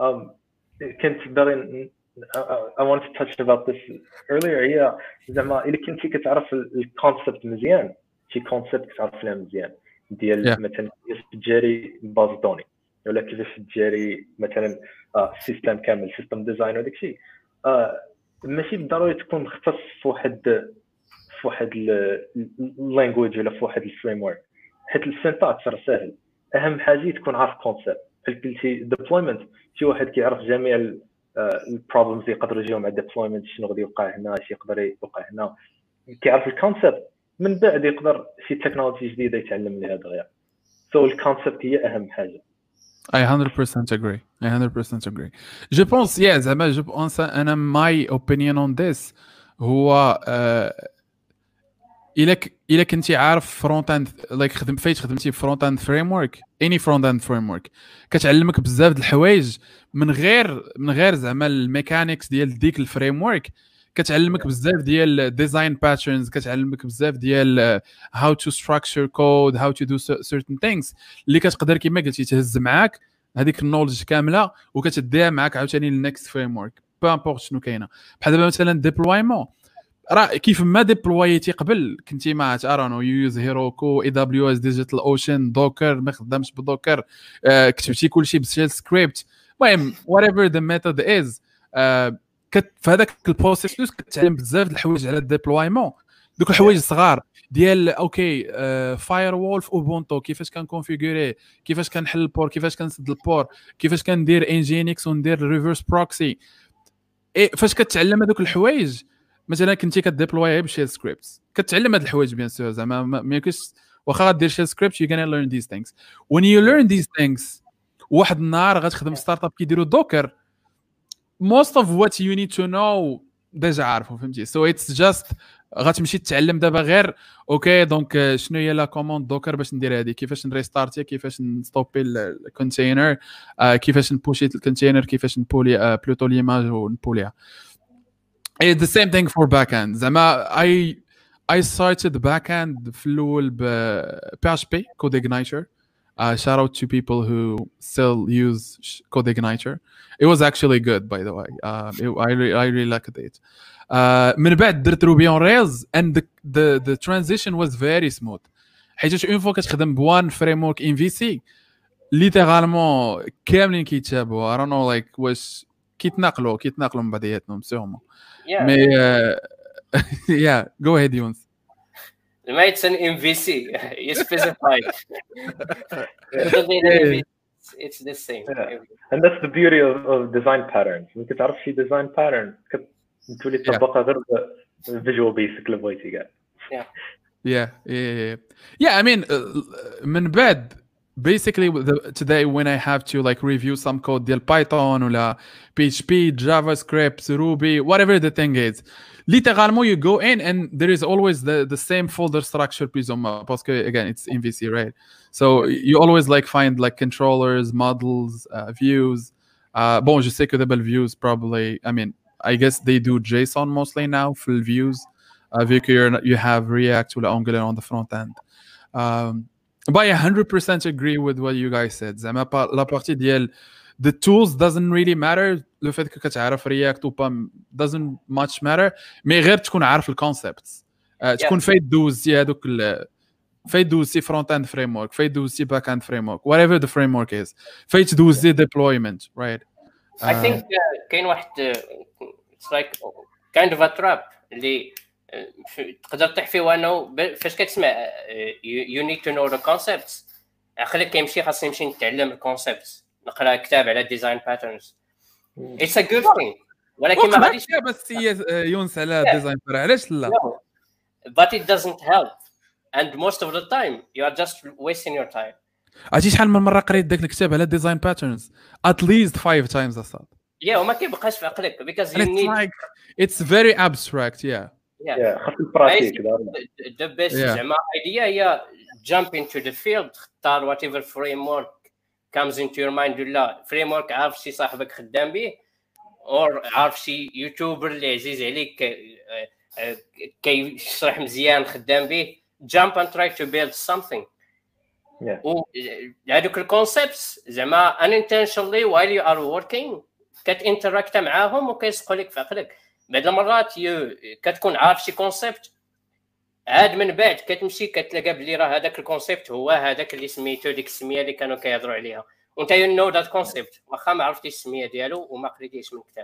[SPEAKER 2] كنت باغي I wanted to touch about this earlier. هي زعما إلا كنتي كتعرف الكونسيبت مزيان شي كونسيبت كتعرف لها مزيان ديال yeah. مثلا كيفاش تجاري باز دوني ولا كيفاش تجاري مثلا سيستم كامل سيستم ديزاين وداك الشيء آه ماشي بالضروري تكون مختص في واحد في واحد اللانجويج ولا في واحد الفريم ورك حيت السينتاكس راه ساهل. اهم حاجه تكون عارف كونسيبت بحال قلتي ديبلويمنت شي واحد كيعرف جميع البروبلمز اللي يقدروا يجيو مع الديبلويمنت شنو غادي يوقع هنا شي يقدر يوقع هنا كيعرف الكونسيبت من بعد يقدر شي تكنولوجي جديده يتعلم لها دغيا. سو الكونسيبت هي اهم حاجه.
[SPEAKER 1] I one hundred percent agree. I one hundred percent agree. Je pense yeah زعما je pense انا my opinion on this هو uh, الا الا كنتي عارف فرونت اند لايك خدم فايت خدمتي فرونت اند فريم ورك اني فرونت اند فريم ورك كتعلمك بزاف د الحوايج من غير من غير زعما الميكانيكس ديال ديك الفريم ورك كتعلمك بزاف ديال ديزاين باترنز كتعلمك بزاف ديال how to structure code how to do certain things اللي كتقدر كما قلتي تهز معاك هذيك النولج كامله وكتديها معاك عاوتاني للنكست فريم ورك با امبورط شنو كاينه بحال دابا مثلا ديبلويمون راه كيف ما ديبلويتي قبل كنتي ما ارانو يوز هيروكو اي دبليو اس ديجيتال اوشن دوكر ما خدامش بدوكر آه كتبتي كلشي بشيل سكريبت المهم whatever the method is آه كت في هذاك البروسيس كتعلم بزاف د الحوايج على الديبلويمون دوك الحوايج الصغار ديال اوكي فاير وول في اوبونتو كيفاش كنكونفيغوري كيفاش كنحل البور كيفاش كنسد البور كيفاش كندير انجينكس وندير ريفرس بروكسي فاش كتعلم هذوك الحوايج مثلا كنتي كديبلوي بشيل سكريبتس كتعلم هاد الحوايج بيان سور زعما ما يمكنش واخا غدير شيل سكريبت you're gonna learn these things when you learn these things واحد النهار غتخدم ستارت اب كيديروا دوكر most of what you need to know ديجا عارفه فهمتي so it's just غتمشي تتعلم دابا غير اوكي دونك شنو هي لا كوموند دوكر باش ندير هذه كيفاش نريستارتي كيفاش نستوبي الكونتينر كيفاش نبوشي الكونتينر كيفاش نبولي بلوتو ليماج ونبوليها. It's the same thing for backend. زعما I I started backend في الأول ب P H P CodeIgniter. Uh, shout out to people who still use CodeIgniter. It was actually good, by the way. Uh, it, I really I really liked it. Uh, من بعد درت Ruby on Rails and the the the transition was very smooth. حيت اون فوا كتخدم بوان فريمورك ان في سي ليترالمون كاملين كيتشابهوا. I don't know like واش كيتناقلوا كيتناقلوا من بعضياتهم سيغمون.
[SPEAKER 3] Yeah.
[SPEAKER 1] Mais uh, yeah, go ahead, Younes.
[SPEAKER 3] It's an M V C. You specified. yeah. It's the same.
[SPEAKER 2] Yeah. And that's the beauty of, of design patterns. You can تعرف شي design pattern كتولي تطبقها غير visual basic اللي بغيتي كاع.
[SPEAKER 3] Yeah.
[SPEAKER 1] Yeah, yeah, yeah. Yeah, I mean, uh, من بعد basically the, today when I have to like review some code ديال Python or P H P, JavaScript, Ruby, whatever the thing is, littéralement you go in and there is always the, the same folder structure plus ou moins, parce que again it's M V C, right? So you always like find like controllers, models, uh, views. Uh, bon, je sais que the views probably, I mean, I guess they do JSON mostly now, full views. Uh, vu que you're, you have React or Angular on the front end. Um, but I one hundred percent agree with what you guys said. زعما la partie ديال the tools doesn't really matter. Le fait que كتعرف React ou pas doesn't much matter. Mais غير تكون عارف الكونسبتس. Uh, تكون فايت دوزي هذوك فايت دوزي front end framework, فايت دوزي back end framework, whatever the framework is. فايت دوزي deployment, right? Uh,
[SPEAKER 3] I think uh, كاين واحد uh, it's like kind of a trap اللي تقدر تطيح فيه وانه فاش كتسمع you need to know the concepts عقلك كيمشي خاصني نمشي نتعلم الكونسبتس نقرا كتاب على ديزاين باترنز it's a good thing ولكن ما غاديش
[SPEAKER 1] بس يونس على ديزاين علاش لا
[SPEAKER 3] but it doesn't help and most of the time you are just wasting your time.
[SPEAKER 1] عرفتي شحال من مره قريت داك الكتاب على ديزاين باترنز at least five times اصلا
[SPEAKER 3] yeah وما كيبقاش في عقلك because you
[SPEAKER 1] it's
[SPEAKER 3] need
[SPEAKER 1] like it's very abstract yeah
[SPEAKER 2] yeah خاص البراتيك
[SPEAKER 3] the best زعما idea هي jump into the field اختار whatever framework comes into your mind ولا framework عارف شي صاحبك خدام به or عارف شي يوتيوبر اللي عزيز عليك كيشرح مزيان خدام به jump and try to build something. و هذوك الكونسبتس زعما unintentionally while you are working كتانتراكت معاهم وكيسقوا لك في عقلك. بعض المرات كتكون عارف شي كونسيبت عاد من بعد كتمشي كتلقى بلي راه هذاك الكونسيبت هو هذاك اللي سميتو ديك السميه اللي كانوا كيهضروا عليها وانت you know that concept واخا ما عرفتيش السميه ديالو وما قريتيش من الكتاب.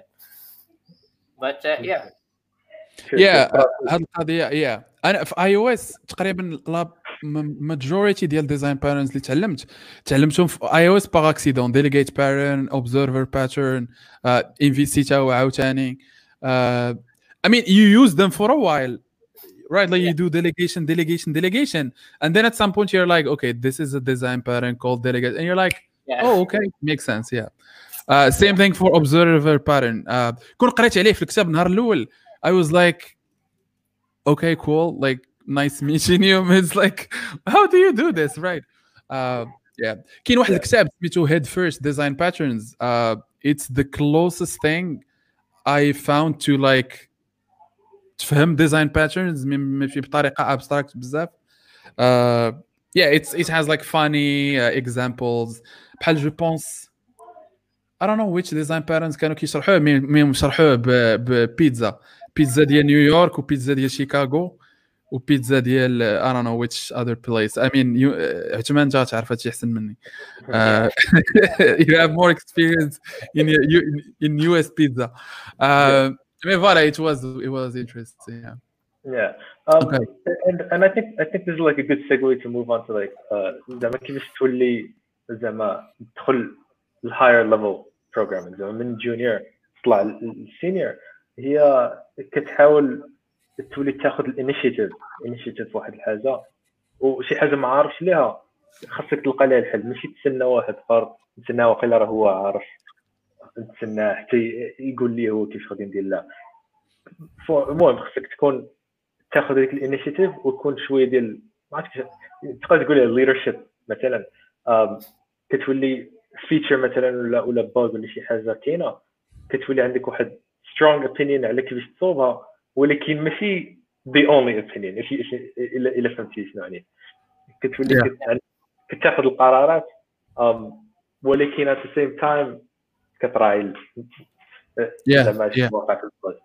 [SPEAKER 3] but uh, yeah
[SPEAKER 1] yeah هاد القضيه yeah انا في اي او اس تقريبا لا ماجوريتي ديال ديزاين باترنز اللي تعلمت تعلمتهم في اي او اس باغ اكسيدون ديليغيت باترن اوبزرفر باترن ام في سي تا عاوتاني Uh, I mean, you use them for a while, right? Like yeah. you do delegation, delegation, delegation, and then at some point you're like, okay, this is a design pattern called delegate, and you're like, yeah. oh, okay, makes sense, yeah. Uh, same thing for observer pattern. Uh, كون قريت عليه في الكتاب النهار الأول, I was like, okay, cool, like nice meeting you. It's like, how do you do this, right? Uh, yeah. كاين واحد الكتاب سميتو Head First Design Patterns. Uh, it's the closest thing I found to like تفهم design patterns ماشي بطريقة abstract بزاف. Uh, yeah, it's it has like funny uh, examples. بحال je pense I don't know which design patterns كانوا كيشرحوه مي مي شرحوه ببيتزا بيتزا ديال نيويورك وبيتزا ديال شيكاغو وبيتزا ديال I don't know which other place. I mean you عثمان جا تعرف هادشي احسن مني. Uh, you have more experience in in, in U S pizza. Uh, I mean, voilà, it was it was interesting. Yeah.
[SPEAKER 2] Yeah. Um,
[SPEAKER 1] okay.
[SPEAKER 2] And and I think I think this is like a good segue to move on to like زعما كيفاش تولي زعما تدخل ال higher level programming زعما من junior تطلع للسينيور هي كتحاول تولي تاخذ الانيشيتيف انيشيتيف في واحد الحاجه وشي حاجه ما عارفش ليها خاصك تلقى لها الحل ماشي تسنى واحد اخر تسنى واقيلا راه هو عارف تسنى حتى يقول لي هو كيفاش غادي ندير لا المهم خاصك تكون تاخذ ديك الانيشيتيف ويكون شويه ديال ما عرفتش تقدر تقول ليدرشيب مثلا كتولي فيتشر مثلا ولا ولا باغ ولا شي حاجه كاينه كتولي عندك واحد سترونغ اوبينيون على كيفاش تصوبها ولكن ماشي the only opinion الا الا فهمتي شنو يعني كتولي yeah. كتاخذ القرارات um, ولكن at the same time كتراعي
[SPEAKER 1] زعما
[SPEAKER 2] شي واقع في البلاصه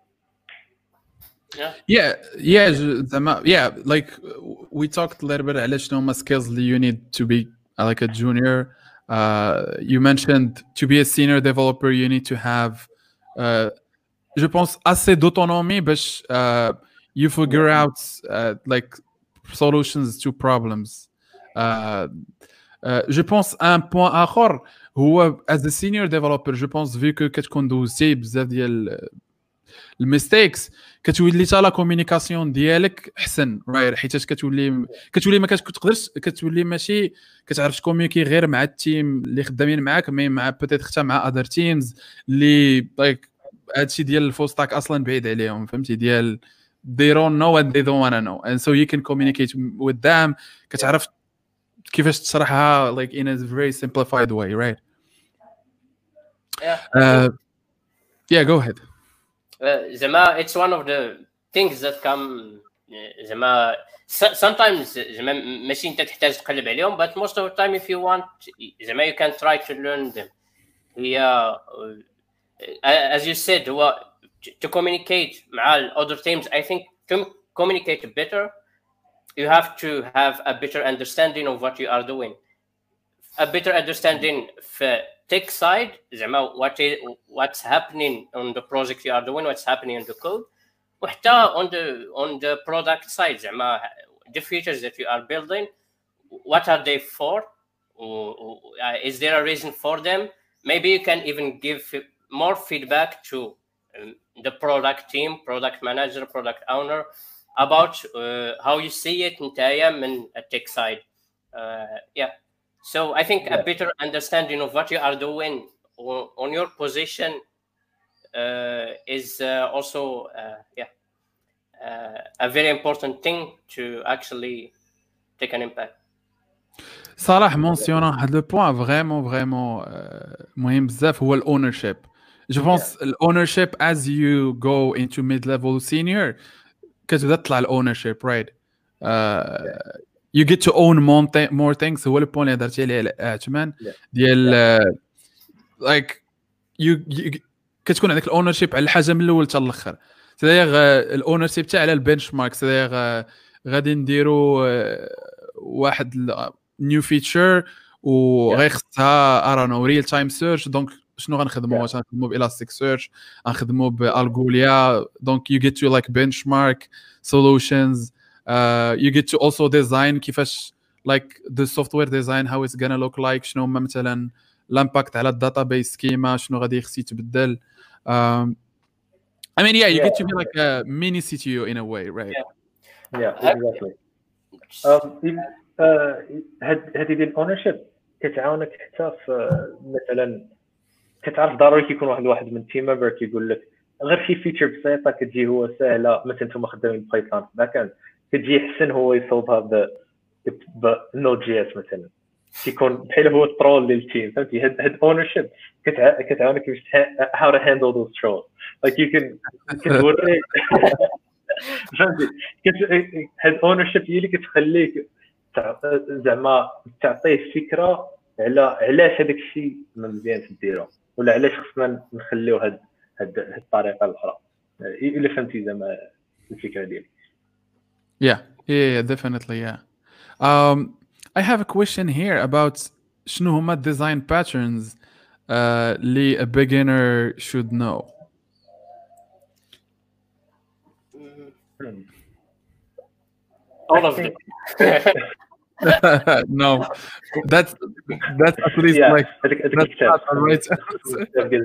[SPEAKER 1] yeah yeah yeah زعما yeah like we talked a little bit على شنو هما skills اللي you need to be like a junior. Uh, you mentioned to be a senior developer you need to have uh, je pense assez d'autonomie باش uh, you figure out uh, like solutions to problems. Uh, uh, je pense un point آخر هو as a senior developer je pense vu que كتكون دوزتي بزاف ديال الميستيكس كتولي حتى لا كومونيكاسيون ديالك احسن راير حيتاش كتولي كتولي ما كتقدرش كتولي ماشي كتعرف تكومونيكي غير مع التيم اللي خدامين معاك مي مع بوتيت حتى مع اذر تيمز اللي لايك هادشي ديال الفول ستاك اصلا بعيد عليهم فهمتي ديال they don't know what they don't want to know and so you can communicate with them كتعرف كيفاش تشرحها like in a very simplified way right
[SPEAKER 3] yeah
[SPEAKER 1] uh, yeah go ahead
[SPEAKER 3] uh, زعما it's one of the things that come زعما sometimes زعما ماشي انت تحتاج تقلب عليهم but most of the time if you want زعما you can try to learn them هي uh, as you said هو to communicate مع other teams I think to communicate better you have to have a better understanding of what you are doing a better understanding for tech side زعما what is what's happening on the project you are doing what's happening in the code وحتى on the on the product side زعما the features that you are building what are they for uh, is there a reason for them maybe you can even give more feedback to um, the product team product manager product owner about uh, how you see it نتايا من a tech side uh, yeah so I think yeah. a better understanding of what you are doing on, on your position uh, is uh, also uh, yeah uh, a very important thing to actually take an impact.
[SPEAKER 1] صراحة mentionner هذا le point vraiment vraiment مهم بزاف هو الownership. Je pense yeah. الownership as you go into mid-level senior كتبدا تطلع الownership right. Uh, yeah. You get to own more, th- more things هو البوين اللي هضرتي عليه عثمان ديال uh, like you, you كتكون عندك الاونرشيب على الحاجه من الاول حتى الاخر سداير الاونرشيب تاع على البنش مارك سداير غادي نديروا واحد نيو فيتشر وغيخصها ارانو ريل تايم سيرش دونك شنو غنخدموا واش غنخدموا بالاستيك سيرش غنخدموا بالغوليا دونك you get to like benchmark solutions uh, you get to also design كيفاش like the software design how it's gonna look like شنو هما مثلا الامباكت على الداتابيس سكيما شنو غادي يخص يتبدل um, I mean yeah you yeah. get to be like a mini C T O in a way right
[SPEAKER 2] yeah, yeah exactly um, هذه ديال الاونرشيب كتعاونك حتى في مثلا كتعرف ضروري كيكون واحد واحد من تيم ممبر كيقول لك غير شي فيتشر بسيطه كتجي هو سهله مثلا نتوما خدامين بايثون باكان كتجي حسن هو يصوبها ب بنود جي اس مثلا كيكون بحال هو الترول ديال التيم فهمتي هاد هاد اونرشيب كتعاونك كيفاش how to handle those trolls like you can كتوري فهمتي هاد اونرشيب هي اللي كتخليك زعما تعطيه فكره على علاش هذاك الشيء مزيان تديرو ولا علاش خصنا نخليو هاد هاد الطريقه الاخرى الا فهمتي زعما الفكره ديالي.
[SPEAKER 1] Yeah, yeah, definitely, yeah. Um, I have a question here about شنو هما design patterns uh, اللي a beginner should know.
[SPEAKER 3] All of them.
[SPEAKER 1] No, that's that's at least
[SPEAKER 2] yeah,
[SPEAKER 1] like
[SPEAKER 2] I think, I think
[SPEAKER 1] that's not the right answer.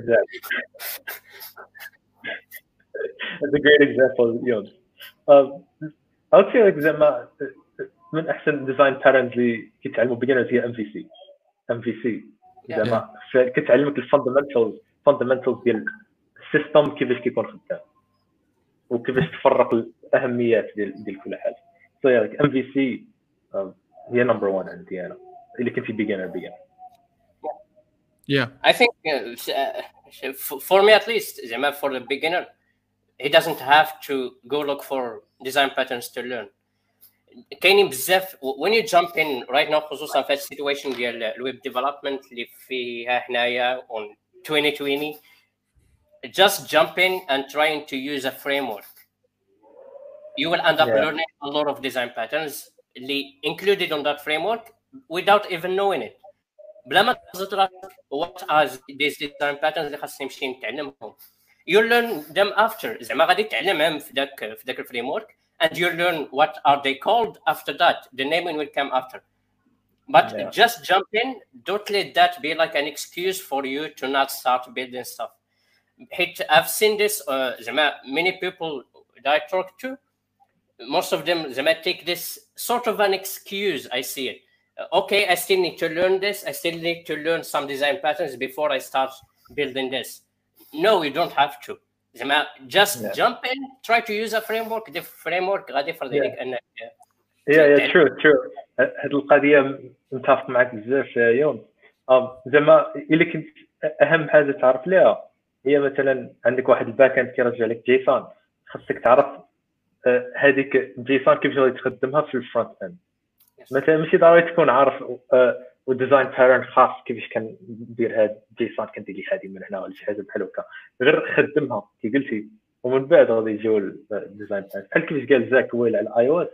[SPEAKER 2] That's a great example. You know, um, I would say like زعما من أحسن design patterns اللي كيتعلموا beginners هي M V C. M V C زعما كتعلمك الفاندمنتالز fundamentals ديال السيستم كيفاش كيكون خدام وكيفاش تفرق الأهميات ديال ديال كل حاجة. So yeah, like M V C um, هي number one عندي أنا اللي كنت beginner beginner.
[SPEAKER 3] Yeah. I think uh, for me at least زعما for the beginner he doesn't have to go look for design patterns to learn. كاينين بزاف when you jump in right now خصوصا في السيتويشن ديال الويب ديفلوبمنت اللي فيها حنايا on twenty twenty just jump in and trying to use a framework you will end up yeah. learning a lot of design patterns اللي included on that framework without even knowing it بلا ما تزرع what are these design patterns اللي خاصني نمشي نتعلمهم you learn them after زعما غادي تعلمهم في داك في داك الفريمورك and you learn what are they called after that the naming will come after but yeah. just jump in don't let that be like an excuse for you to not start building stuff I've seen this. Uh, many people that I talk to, most of them they might take this sort of an excuse. I see it. Uh, okay, I still need to learn this. I still need to learn some design patterns before I start building this. No, you don't have to. Just yeah. jump in, try to use a framework. The framework غادي يفرض عليك انك.
[SPEAKER 2] Yeah, yeah, true, true. هاد القضية متفق معك بزاف يوم. زعما إلا كنت أهم حاجة تعرف ليها هي مثلا عندك واحد الباك اند كيرجع لك جيسون، خاصك تعرف هذيك جيسون كيفاش غادي تخدمها في الفرونت اند. مثلا ماشي ضروري تكون عارف وديزاين باترن خاص كيفاش كندير هاد جيسون كندير لي هذه من هنا ولا شي حاجه بحال هكا، غير خدمها كي قلتي ومن بعد غادي يجيو الديزاين باترن. بحال كيفاش قال زاك ويل على الاي او اس،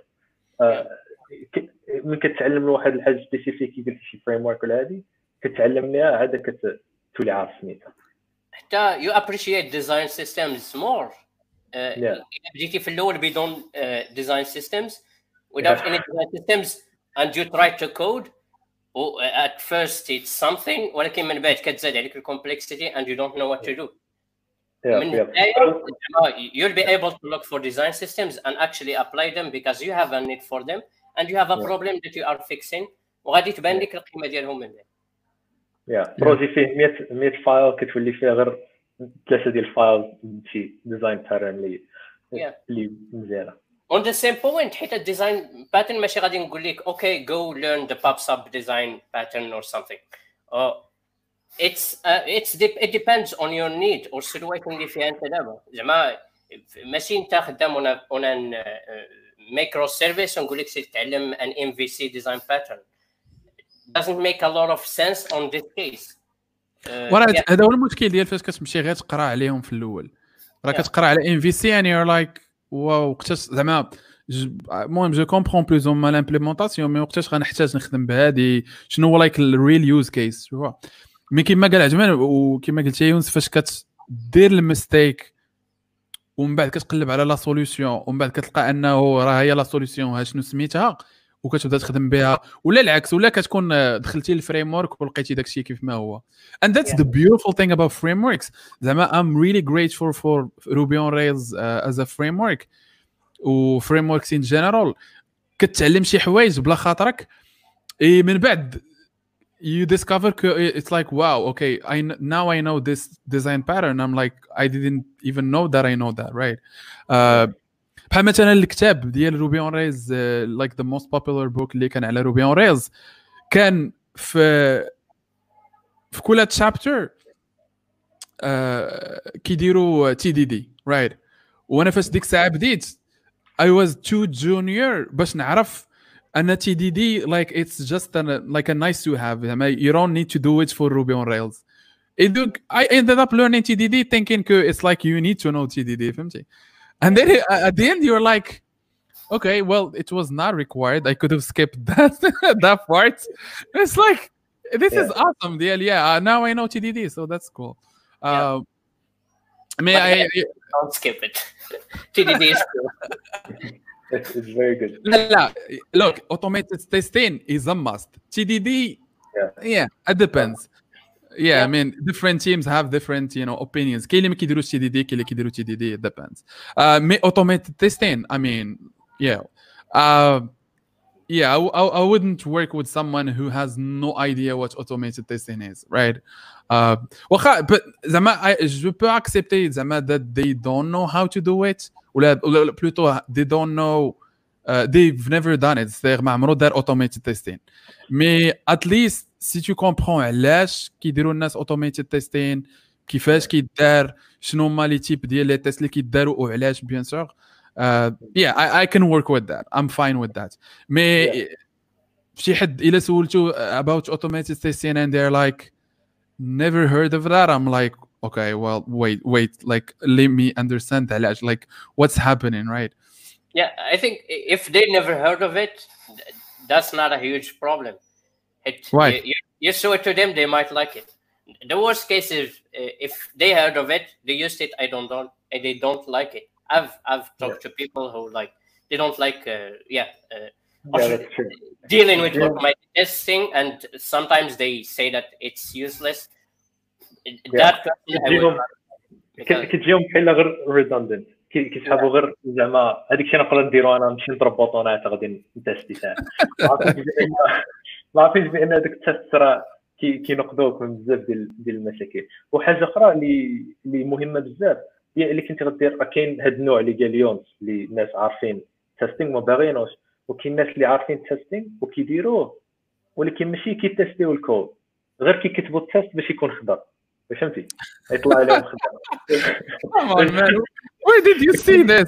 [SPEAKER 2] ملي كتعلم من واحد الحاجه سبيسيفيك كي قلتي شي فريم ورك ولا هذه كتعلم ليها عاد كتولي عارف سميتها.
[SPEAKER 3] حتى you appreciate design systems more. بديتي في الاول بدون design systems without yeah. any design systems and you try to code oh, at first it's something ولكن من بعد كتزاد عليك complexity and you don't know what to do.
[SPEAKER 2] Yeah,
[SPEAKER 3] من
[SPEAKER 2] yeah.
[SPEAKER 3] you'll be able to look for design systems and actually apply them because you have a need for them and you have a yeah. problem that you are fixing وغادي تبان لك القيمه ديالهم من بعد.
[SPEAKER 2] يا بروجي فيه مية فايل كتولي فيه غير ثلاثه ديال الفايل شي ديزاين باترن اللي اللي مزيانه.
[SPEAKER 3] On the same point حيت الديزاين باترن ماشي غادي نقول لك okay go learn the pop sub design pattern or something. Oh, it's uh, it's it depends on your need or situation اللي فيها انت دابا. زعما ماشي انت خدام on an micro service ونقول لك سير تعلم an M V C design pattern. doesn't make a lot of sense on this case.
[SPEAKER 1] وراه هذا هو المشكل ديال فاش كتمشي غير تقرا عليهم في الاول، راه كتقرا على ام في سي يعني يور لايك واو وقتاش زعما المهم جو كومبرون بلوز اون ما لامبليمونطاسيون مي وقتاش غنحتاج نخدم بهادي شنو هو لايك الريل يوز كيس شوف. مي كيما قال عجمان وكيما قلت يا يونس فاش كتدير المستيك ومن بعد كتقلب على لا سوليوشن ومن بعد كتلقى انه راه هي لا سوليوشن ها شنو سميتها وكتبدا تخدم بها ولا العكس ولا كتكون دخلتي الفريم ورك ولقيتي داكشي كيف ما هو. and that's yeah. the beautiful thing about frameworks. زعما I'm really grateful for Ruby on Rails uh, as a framework و frameworks in general. كتعلم شي حوايج بلا خاطرك اي من بعد you discover it's like wow okay I now I know this design pattern. I'm like I didn't even know that I know that right. uh, بحال مثلا الكتاب ديال روبي اون ريلز لايك ذا موست بوبولار بوك اللي كان على روبي اون ريلز كان في في كل تشابتر كيديروا تي دي دي رايت. وانا فاش ديك الساعه بديت I was too junior باش نعرف ان تي دي دي like it's just an, like a nice to have. You don't need to do it for Ruby on Rails. I ended up learning T D D thinking it's like you need to know T D D فهمتي. And then at the end you're like okay well it was not required. I could have skipped that that part. It's like this yeah. is awesome deal. Yeah uh, now I know T D D so that's cool. uh yeah. I mean I, I
[SPEAKER 3] don't skip it. T D D is cool.
[SPEAKER 2] it's, it's very good.
[SPEAKER 1] لا لا look automated testing is a must. T D D yeah, yeah it depends. Yeah, yeah, I mean different teams have different you know opinions. كاين اللي ما كيديروش تي دي دي كاين اللي كيديروا تي دي دي it depends. uh me automated testing I mean yeah uh yeah I, I, I wouldn't work with someone who has no idea what automated testing is right. uh واخا but زعما je peux accepter زعما that they don't know how to do it ولا plutôt they don't know uh, they've never done it. c'est ما عمرو دار automated testing mais at least si tu comprends علاش كيديروا الناس automated testing كيفاش كيدار شنو هما لي تيب ديال لي تيست اللي كيداروا وعلاش بيان سور uh, yeah I, I can work with that. I'm fine with that. مي yeah. شي حد الا سولتو about automated testing and they're like never heard of that I'm like okay well wait wait like let me understand علاش like what's happening right.
[SPEAKER 3] yeah I think if they never heard of it that's not a huge problem. It,
[SPEAKER 1] right.
[SPEAKER 3] you, you show it to them they might like it. The worst case is uh, if they heard of it they used it I don't don't and they don't like it. I've I've talked yeah. to people who like they don't like uh, yeah, uh,
[SPEAKER 2] yeah that's true.
[SPEAKER 3] dealing with
[SPEAKER 2] yeah.
[SPEAKER 3] my testing and sometimes they say that it's useless.
[SPEAKER 2] Yeah.
[SPEAKER 3] That
[SPEAKER 2] you know, كتجيهم بحال غير ريدوندنت كيسحبوا غير زعما هذيك الشيء نقدر نديرو انا نمشي نضرب بوطونات غادي نتيستي ساعه ما عرفتش بان هذاك التيست راه كينقذوك من بزاف ديال ديال المشاكل. وحاجه اخرى اللي اللي مهمه بزاف هي اللي كنت غدير راه كاين هاد النوع اللي قال ليونس اللي الناس عارفين تيستينغ ما باغينوش، وكاين الناس اللي عارفين تيستينغ وكيديروه ولكن ماشي كيتيستيو الكود غير كيكتبوا التيست باش يكون خضر. فهمتي يطلع عليهم خضر.
[SPEAKER 1] Where did you see this?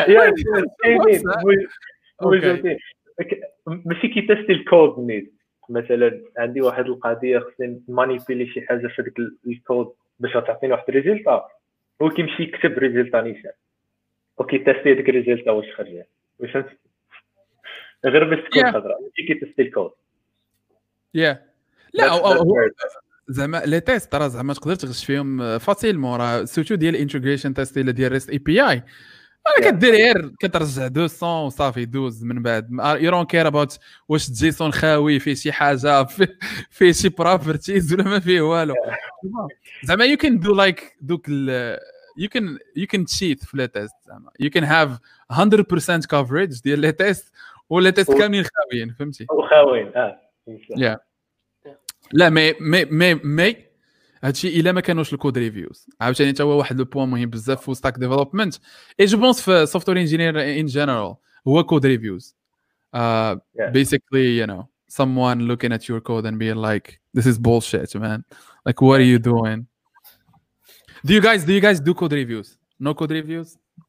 [SPEAKER 2] ماشي كيتيستي الكود نيت. مثلا عندي واحد القضيه خصني مانيبيلي شي حاجه في داك الكود باش تعطيني واحد الريزلتا، هو كيمشي يكتب ريزلتا نيشان وكيتيستي ديك الريزلتا واش خرجت. فهمتي غير باش تكون خضراء ماشي كيتيستي الكود.
[SPEAKER 1] يا لا هو زعما لي تيست راه زعما تقدر تغش فيهم فاسيلمون، راه سورتو ديال الانتجريشن تيست اللي ديال ريست اي بي اي انا كدير غير كترجع مئتين وصافي دوز من بعد. يو دونت كير اباوت واش الجيسون خاوي فيه شي حاجه فيه شي بروبرتيز ولا ما فيه والو. زعما يو كان دو لايك دوك يو كان يو كان تشيت في لي تيست. زعما يو كان هاف مية بالمية كفريج ديال لي تيست ولا تيست كاملين خاويين. فهمتي
[SPEAKER 2] وخاويين اه
[SPEAKER 1] يا لا مي مي مي مي هادشي الا ما كانوش الكود ريفيوز عاوتاني حتى هو واحد لو بوين مهم بزاف في ستاك ديفلوبمنت اي جو بونس في سوفتوير انجينير ان جنرال هو كود ريفيوز. uh yeah. basically you know someone looking at your code and being like this is bullshit man, like what are you doing? do you guys do you guys do code reviews? No code reviews?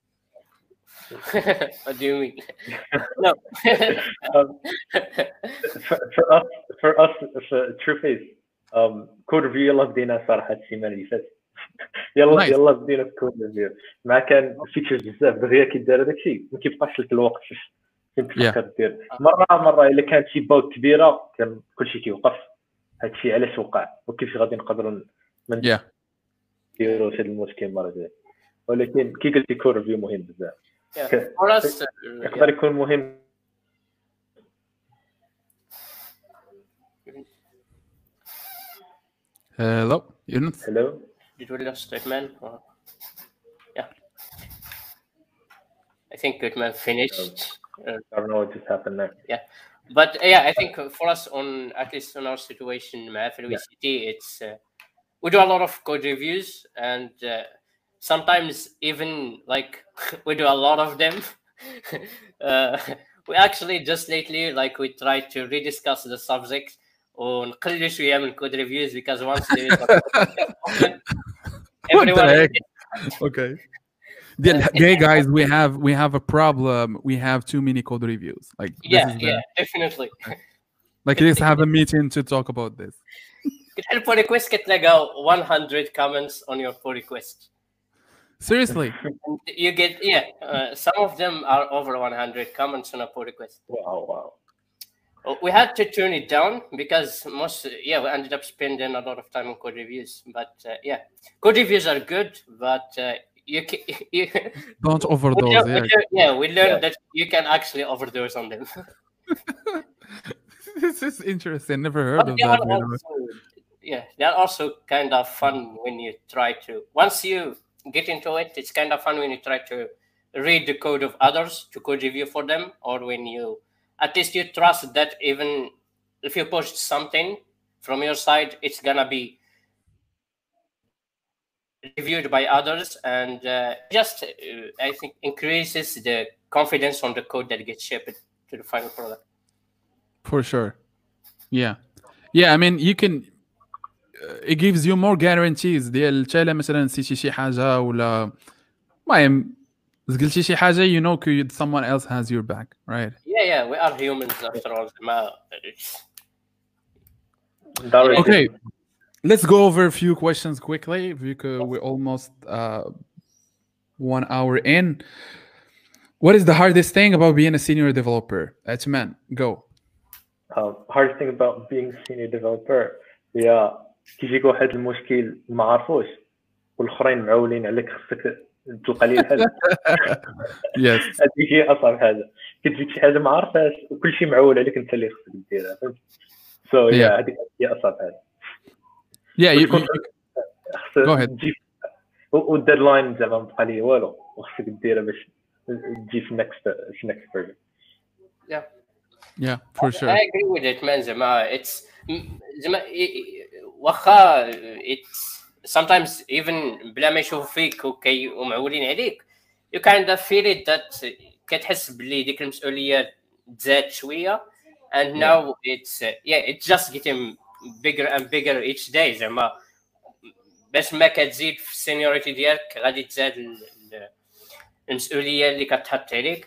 [SPEAKER 3] What do you mean? No.
[SPEAKER 2] um, for, for us for us for TrueFace um code review يلا بدينا صراحه السيمانه اللي فاتت. يلا يلا بدينا كود ريفيو مع كان فيتشرز بزاف دغيا كيدار هذاك الشيء ما كيبقاش لك الوقت فين تفكر دير مره مره الا كانت شي باوك كبيره كان كلشي كيوقف. هذا الشيء علاش وقع وكيفاش غادي نقدروا نديروا هذا المشكل مره جايه. ولكن كي قلتي كود ريفيو مهم بزاف يقدر يكون مهم.
[SPEAKER 1] Hello, Yunus.
[SPEAKER 2] Hello.
[SPEAKER 3] Did we lose Goodman? Or... Yeah. I think Goodman finished.
[SPEAKER 2] Uh, I don't know what just happened there.
[SPEAKER 3] Yeah, but uh, yeah, I think for us on at least on our situation, F L V C T, yeah. it's uh, we do a lot of code reviews, and uh, sometimes even like we do a lot of them. uh, we actually just lately like we tried to rediscuss the subject. ونقلل شويه من كود ريفيوز because once there is
[SPEAKER 1] everyone okay hey guys we have we have a problem, we have too many code reviews like
[SPEAKER 3] yeah yeah the... definitely
[SPEAKER 1] like let's have a meeting to talk about this.
[SPEAKER 3] كتحل pull request كتلقى one hundred comments on your pull request.
[SPEAKER 1] Seriously?
[SPEAKER 3] You get yeah uh, some of them are over one hundred comments on a pull request.
[SPEAKER 2] Wow wow.
[SPEAKER 3] We had to turn it down because most yeah we ended up spending a lot of time on code reviews. But uh, yeah, code reviews are good, but uh, you, can, you
[SPEAKER 1] don't overdose.
[SPEAKER 3] We learn,
[SPEAKER 1] yeah.
[SPEAKER 3] yeah, we learned yeah. that you can actually overdose on them.
[SPEAKER 1] This is interesting. Never heard but of that.
[SPEAKER 3] Also, yeah, they're also kind of fun when you try to. Once you get into it, it's kind of fun when you try to read the code of others to code review for them, or when you. At least you trust that even if you post something from your side, it's gonna be reviewed by others, and uh, just uh, I think increases the confidence on the code that gets shipped to the final product.
[SPEAKER 1] For sure, yeah, yeah. I mean, you can. Uh, it gives you more guarantees. ديال تالا مثلا نسيتي شي حاجة ولا المهم قلتي شي حاجة you know someone else has your back, right?
[SPEAKER 3] Yeah, yeah, we are humans after all.
[SPEAKER 1] Okay, let's go over a few questions quickly because we're almost uh, one hour in. What is the hardest thing about being a senior developer? Atman, go.
[SPEAKER 2] Um, hardest thing about being a senior developer هي كيجيك واحد المشكل ما عرفوش والآخرين معولين عليك خصك تلقى لي الحل.
[SPEAKER 1] يس
[SPEAKER 2] هذيك هي اصعب حاجه كتجيك شي حاجه ما عرفهاش وكلشي معول عليك انت اللي خصك ديرها فهمت. سو هذيك هي اصعب حاجه.
[SPEAKER 1] Yeah, you, you, go ahead.
[SPEAKER 2] تجيب والديدلاين زعما ما بقى لي والو وخصك ديرها باش تجي في next في next version.
[SPEAKER 3] Yeah.
[SPEAKER 1] Yeah, for sure.
[SPEAKER 3] I agree with it, man. زعما it's زعما واخا it's sometimes even بلا ما يشوفوا فيك وكي ومعولين عليك you kind of feel it that كتحس بلي ديك المسؤوليه تزاد شويه and now it's uh, yeah it's just getting bigger and bigger each day زعما باش ما كتزيد في السينيوريتي ديالك غادي تزاد المسؤوليه اللي كتحط عليك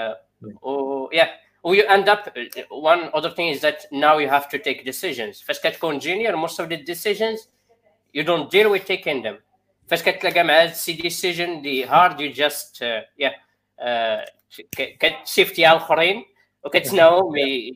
[SPEAKER 3] و yeah you end up one other thing is that now you have to take decisions فاش كتكون junior most of the decisions you don't deal with taking them فاش كتلاقى مع هاد السي decision اللي hard you just uh, yeah uh, كتشيفتي على الاخرين وكتناوم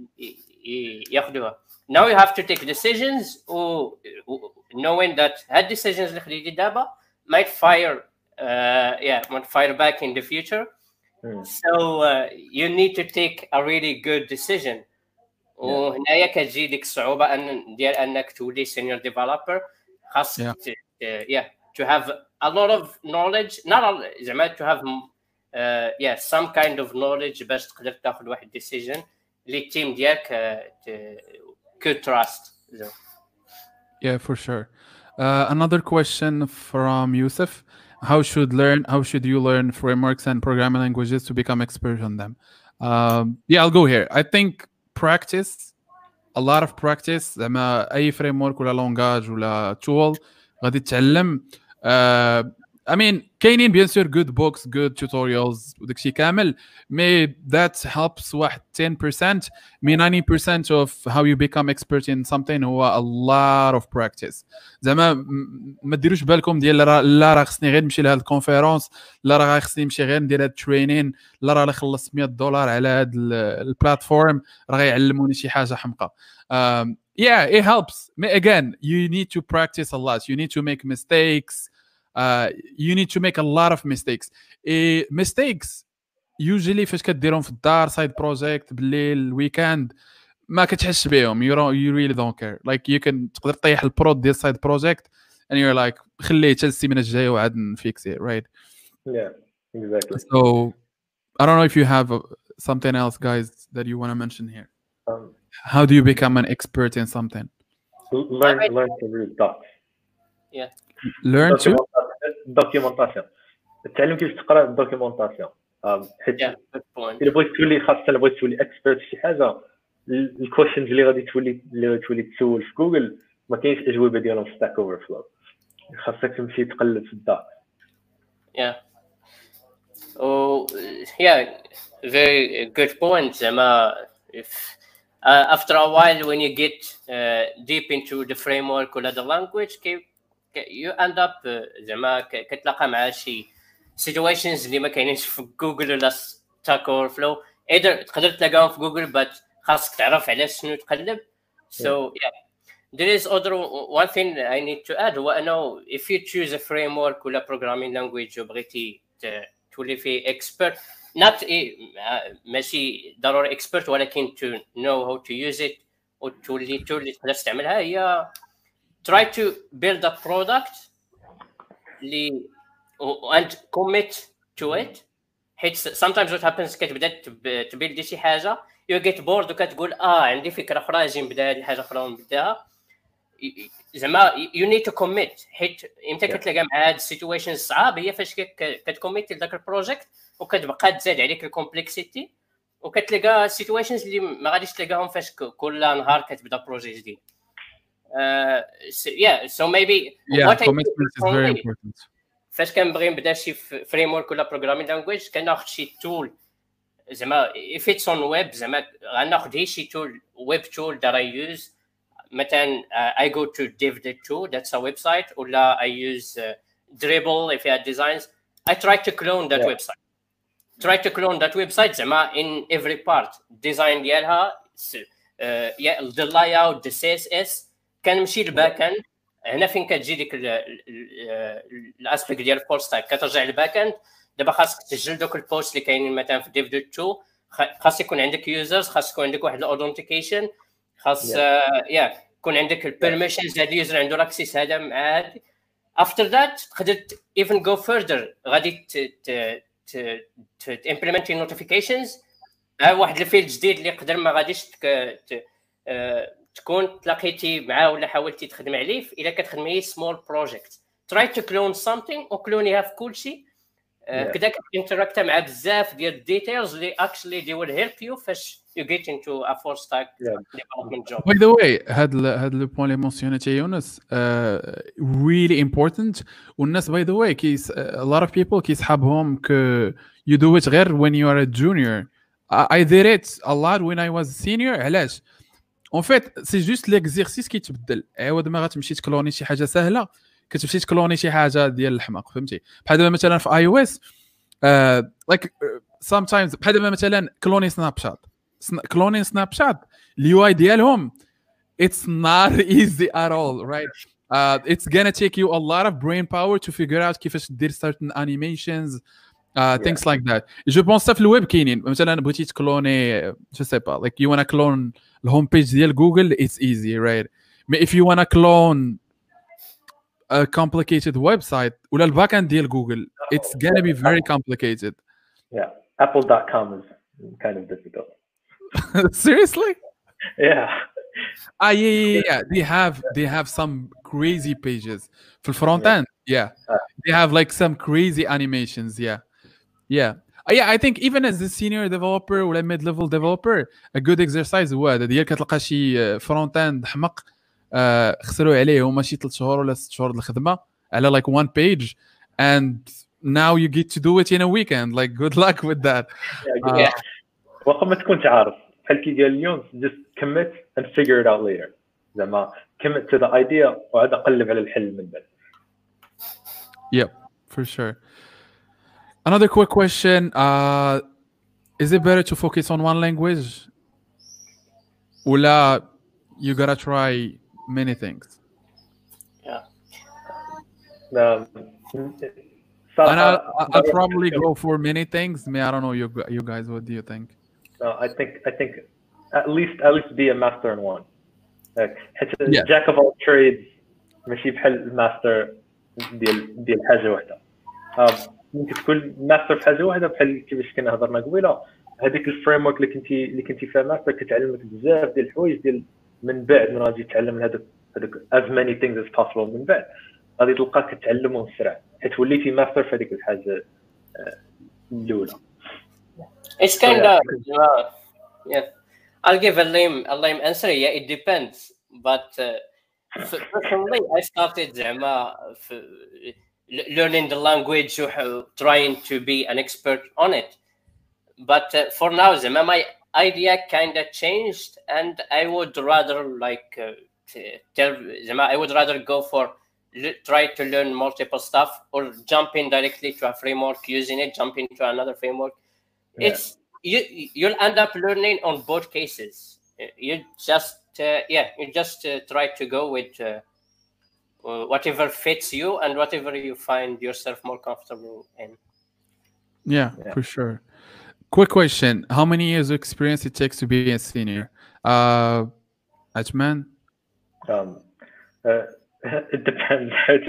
[SPEAKER 3] ياخذوها. Now you have to take decisions و knowing that هاد decisions اللي خديتي دابا might fire uh, yeah might fire back in the future. Mm. So uh, you need to take a really good decision. وهنايا كتجي ديك الصعوبة أن ديال أنك تولي senior developer خاصك yeah. Uh, yeah to have a lot of knowledge not a, زعما to have uh, yeah some kind of knowledge باش تقدر تاخذ واحد decision اللي التيم ديالك uh, could trust. So.
[SPEAKER 1] Yeah, for sure. Uh, another question from Yusuf. How should learn? How should you learn frameworks and programming languages to become expert on them? Um, yeah, I'll go here. I think practice, a lot of practice. زعما أي framework ولا language ولا tool غادي تتعلم. Uh, I mean, كاينين bien sûr good books, good tutorials وداكشي كامل. May that helps واحد ten percent. Me ninety percent of how you become expert in something هو a lot of practice. زعما ما ديروش بالكم ديال لا راه خصني غير نمشي لهاد الكونفيرونس، لا راه خصني نمشي غير ندير هاد الترينين، لا راه خلصت مية دولار على هاد البلاتفورم راه غيعلموني شي حاجه حمقى. Um, yeah, it helps. Again, you need to practice a lot. You need to make mistakes. Uh, you need to make a lot of mistakes. Uh, mistakes usually فاش كديرهم في الدار side project بالليل weekend ما كتحسش بهم. You don't, you really don't care. Like you can تقدر تطيح البرود ديال side project and you're like خليه حتى السيمانه الجايه وعاد نفيكس it, right?
[SPEAKER 2] Yeah, exactly.
[SPEAKER 1] So I don't know if you have uh, something else, guys, that you want to mention here.
[SPEAKER 2] Um,
[SPEAKER 1] How do you become an expert in something?
[SPEAKER 2] Learn, learn to read docs.
[SPEAKER 3] Yeah.
[SPEAKER 1] Learn to
[SPEAKER 2] documentation. تعلم كيف تقرا الدوكيومونطاسيون. حيت الا بغيت تولي خاصه الا بغيت تولي اكسبيرت في شي حاجه الكويشنز اللي غادي تولي اللي غادي تولي تسول في جوجل ما كاينش اجوبه ديالهم في ستاك اوفر فلو. خاصك تمشي تقلب في الداك.
[SPEAKER 3] Yeah. Oh, yeah, very good point. زعما if uh, after a while when you get uh, deep into the framework or the language you end up زعما كتلاقى مع شي situations اللي ما كاينينش في جوجل ولا ستاك اور فلو. ايدر تقدر تلاقاهم في جوجل but خاصك تعرف على شنو تقلب. So yeah, there is other one thing I need to add هو انه if you choose a framework ولا programming language وبغيتي تولي فيه expert not ماشي ضروري expert ولكن to know how to use it وتولي تولي تقدر تستعملها هي try to build a product li, and commit to it. Sometimes what happens كتبدا تبيلدي شي حاجه you get bored وكتقول اه عندي فكره اخرى اجي نبدا هذه الحاجه اخرى ونبداها زعما you need to commit حيت امتى كتلاقى مع هاد السيتويشن الصعاب هي فاش كتكوميت لذاك البروجيكت وكتبقى تزاد عليك الكومبلكسيتي وكتلقى سيتويشنز اللي ما غاديش تلقاهم فاش كل نهار كتبدا بروجي جديد. Uh, so, yeah, so maybe
[SPEAKER 1] yeah,
[SPEAKER 3] what
[SPEAKER 1] commitment is very important.
[SPEAKER 3] فاش كنبغي نبدا شي فريم ولا بروغرامين لانجويج كناخذ شي تول زعما if it's on web زعما غناخذ هي شي تول web tool that I use مثلا uh, I go to div dot to that's a website ولا I use uh, Dribble if you have designs I try to clone that yeah. website try to clone that website زعما in every part design ديالها uh, yeah the layout the C S S كنمشي للباك اند هنا فين كتجي ديك الاسبيكت ديال الفول ستاك كترجع للباك اند دابا خاصك تسجل دوك البوست اللي كاينين مثلا في ديف دوت تو خاص يكون عندك يوزرز خاص يكون عندك واحد الاوثنتيكيشن خاص يا يكون عندك البيرميشنز هاد اليوزر عنده الاكسيس هذا مع هادي after that تقدر even go further غادي ت ت ت implement notifications واحد الفيلد جديد اللي يقدر ما غاديش تكون تلاقيتي معاه ولا حاولتي تخدم عليه الا كتخدمي small project try to clone something وكلونيها في كل شيء كذا كتنتراكت مع بزاف ديال الديتيلز اللي actually they will help you فاش you get into a full stack development job.
[SPEAKER 1] By the way, هاد هاد لو بوين اللي مونسيونيتي يونس really important. والناس by the way كيس a lot of people كيسحابهم ك you do it غير when you are a junior. I did it a lot when I was a senior. علاش؟ en fait c'est juste l'exercice كيتبدل. عوض ما غتمشي تكلوني شي حاجه سهله كتمشي تكلوني شي حاجه ديال الحماق فهمتي. بحال دابا مثلا في اي او اس like sometimes بحال دابا مثلا كلوني سناب شات كلونين سناب شات اليو اي ديالهم it's not easy at all, right? Uh, it's gonna take you a lot of brain power to figure out كيفاش دير certain animations, uh, yeah. things like that. Je pense في الويب كاينين مثلا بغيتي تكلوني je sais pas like you wanna clone الهوم بيج ديال جوجل it's easy, right? But if you wanna clone a complicated website ولا الباك اند ديال جوجل it's gonna be very complicated.
[SPEAKER 2] Yeah, apple dot com is kind of difficult.
[SPEAKER 1] Seriously?
[SPEAKER 2] Yeah.
[SPEAKER 1] Ah, yeah, yeah, yeah. They have they have some crazy pages for the front end. Yeah, uh, they have like some crazy animations. Yeah, yeah, uh, yeah. I think even as a senior developer or a mid-level developer, a good exercise هو هذا ديال كتلقى شي front end حمق خسروا عليه هما شي ثلاث شهور ولا ست شهور الخدمة على like one page, and now you get to do it in a weekend. Like, good luck with that.
[SPEAKER 2] Yeah, yeah. وقت ما تكونش عارف بحال كي قال اليوم just commit and figure it out later. زعما commit to the idea وعاد قلب على الحل من بعد.
[SPEAKER 1] Yep, for sure. Another quick question: uh, is it better to focus on one language, ولا you gotta try many things?
[SPEAKER 3] Yeah.
[SPEAKER 2] Um,
[SPEAKER 1] and I'll, I'll probably go for many things. Me, I don't know you, you guys. What do you think?
[SPEAKER 2] No, I think I think at least at least be a master in one. Like, yeah. Jack of all trades ماشي بحال الماستر ديال ديال حاجه واحده. ممكن تكون ماستر في حاجه واحده بحال كيفاش كنا هضرنا قبيله. هذيك الفريم ورك اللي كنتي اللي كنتي فيها ماستر كتعلمك بزاف ديال الحوايج ديال من بعد من غادي تتعلم هذاك هذاك as many things as possible من بعد غادي تلقاك تتعلمهم بسرعه حيت وليتي ماستر في هذيك الحاجه الاولى.
[SPEAKER 3] It's kind so, yeah. of uh, yeah. I'll give a lame a lame answer. Yeah, it depends. But uh, personally, I started زعما learning the language, trying to be an expert on it. But uh, for now, زعما my idea kind of changed, and I would rather like uh, tell زعما I would rather go for try to learn multiple stuff or jump in directly to a framework using it, jump into another framework. Yeah. It's you you'll end up learning on both cases. You just uh, yeah you just uh, try to go with uh, whatever fits you and whatever you find yourself more comfortable in.
[SPEAKER 1] Yeah, yeah. For sure. Quick question: how many years of experience it takes to be a senior? Uh, Ajman?
[SPEAKER 2] Um, uh, it depends.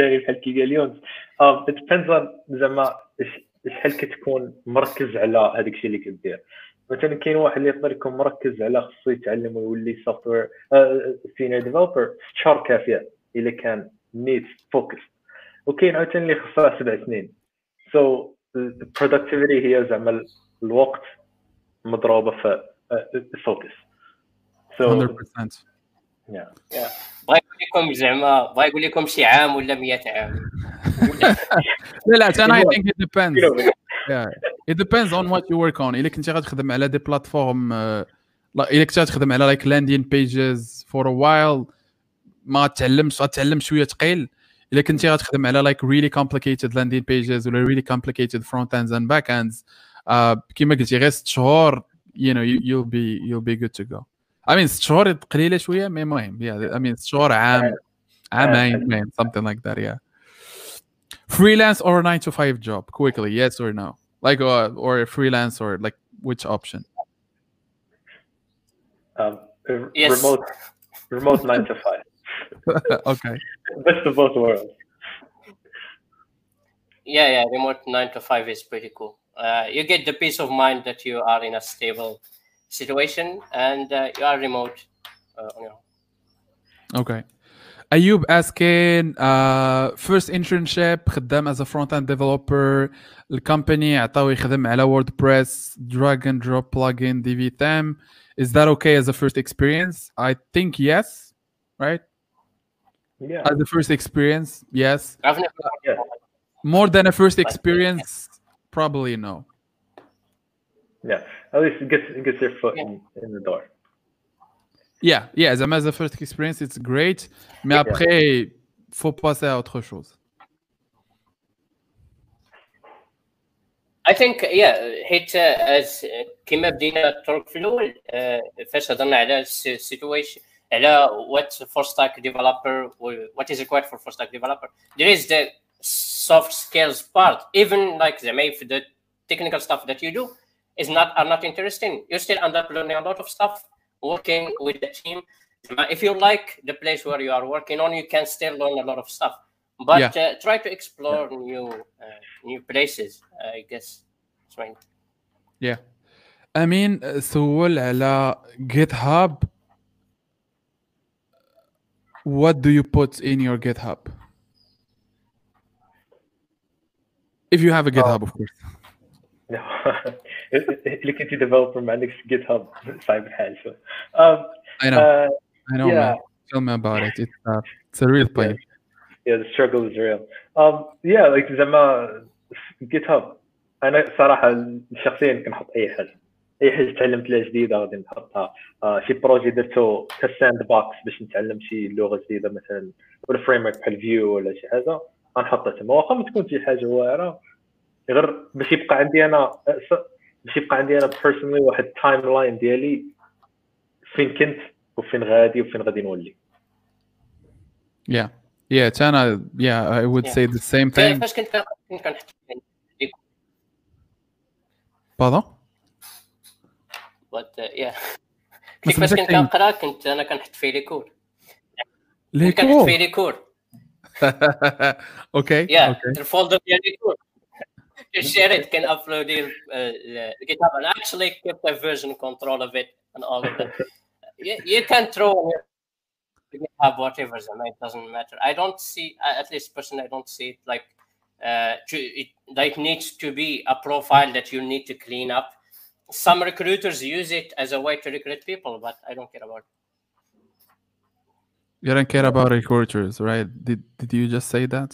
[SPEAKER 2] um, it depends on زعما شحال كتكون مركز على هذاك الشيء اللي كدير. مثلا كاين واحد اللي يقدر يكون مركز على خصو يتعلم ويولي سوفتوير سينيور ديفلوبر شهر كافيه الا كان نيت فوكس، وكاين عاوتاني اللي خصها سبع سنين. سو البرودكتيفيتي هي زعما الوقت مضروبه في الفوكس.
[SPEAKER 1] سو مية بالمية.
[SPEAKER 2] يا
[SPEAKER 3] يا بغا يقول لكم زعما بغا يقول لكم شي عام ولا مية عام.
[SPEAKER 1] لا لا انا I think it depends. Yeah, it depends on what you work on. إلا كنتي غتخدم على دي بلاتفورم لا إلا كنتي غتخدم على like landing pages for a while ما تعلمش غتعلم شويه ثقيل. إلا كنتي غتخدم على like really complicated landing pages ولا really complicated front ends and back ends uh, كما قلتي غير ست شهور you know you, you'll be you'll be good to go. I mean ست شهور قليله شويه مي مهم. yeah I mean ست شهور عام عامين something like that. yeah. Freelance or a nine to five job? Quickly, yes or no? Like, uh, or a freelance, or like which option?
[SPEAKER 2] Um, yes. Remote, remote nine to five.
[SPEAKER 1] Okay.
[SPEAKER 2] Best of both worlds.
[SPEAKER 3] Yeah, yeah, remote nine to five is pretty cool. Uh, you get the peace of mind that you are in a stable situation and uh, you are remote. Uh, you know.
[SPEAKER 1] Okay. Ayub asking uh, first internship خدام as a front end developer الكومباني عطاو يخدم على WordPress drag and drop plugin D V theme. Is that okay as a first experience? I think yes, right?
[SPEAKER 2] Yeah.
[SPEAKER 1] As a first experience, yes.
[SPEAKER 3] I've never,
[SPEAKER 2] Uh, yeah.
[SPEAKER 1] More than a first experience, probably no.
[SPEAKER 2] Yeah. At least it gets, it gets your foot in, in the door.
[SPEAKER 1] Yeah, yeah, as a first experience, it's great. Mais après, faut passer à autre chose.
[SPEAKER 3] I think yeah حيت as كما بدينا الطرق في الاول فاش هضرنا على السيتويشن على what full stack developer what is required for full stack developer, there is the soft skills part. Even like the if the technical stuff that you do is not are not interesting, you still end up learning a lot of stuff working with the team. If you like the place where you are working on, you can still learn a lot of stuff. But yeah. uh, try to explore yeah. new uh, new places, uh, I guess. That's right.
[SPEAKER 1] Yeah. I mean, سؤال على GitHub. What do you put in your GitHub? If you have a GitHub, oh. of course.
[SPEAKER 2] No. اللي كنتي developer ما عندكش GitHub صعيب الحال شوي. Um,
[SPEAKER 1] I know.
[SPEAKER 2] Uh,
[SPEAKER 1] I know,
[SPEAKER 2] yeah.
[SPEAKER 1] man. Tell me about it. It's uh, it's a real pain.
[SPEAKER 2] Yeah. Yeah, the struggle is real. Um, yeah, like زعما GitHub. أنا صراحة شخصيا كنحط أي حاجة، أي حاجة تعلمت لها جديدة غادي نحطها. آه شي بروجي درتو كساند بوكس باش نتعلم شي لغة جديدة مثلا ولا فريم ورك بحال فيو ولا شي حاجة غنحطها تما، واخا ما تكون شي حاجة واعرة غير باش يبقى عندي أنا باش يبقى عندي أنا بيرسونلي واحد التايم لاين ديالي فين كنت وفين غادي وفين غادي نولي.
[SPEAKER 1] Yeah. Yeah, Chana, yeah, I would yeah. say the same thing. Pardon?
[SPEAKER 3] But uh, yeah. كيفاش كنت كنقرا كنت انا كنحط فيه لي كور.
[SPEAKER 1] لي كور.
[SPEAKER 3] كنحط فيه لي كور.
[SPEAKER 1] اوكي.
[SPEAKER 3] Yeah, الفولدر ديال لي كور. Share it, can upload it uh, GitHub, and actually keep the version control of it and all of that. you, you can throw GitHub whatever, it doesn't matter. I don't see, at least personally, I don't see it like uh, to, it like needs to be a profile that you need to clean up. Some recruiters use it as a way to recruit people, but I don't care about it.
[SPEAKER 1] You don't care about recruiters, right? Did did you just say that?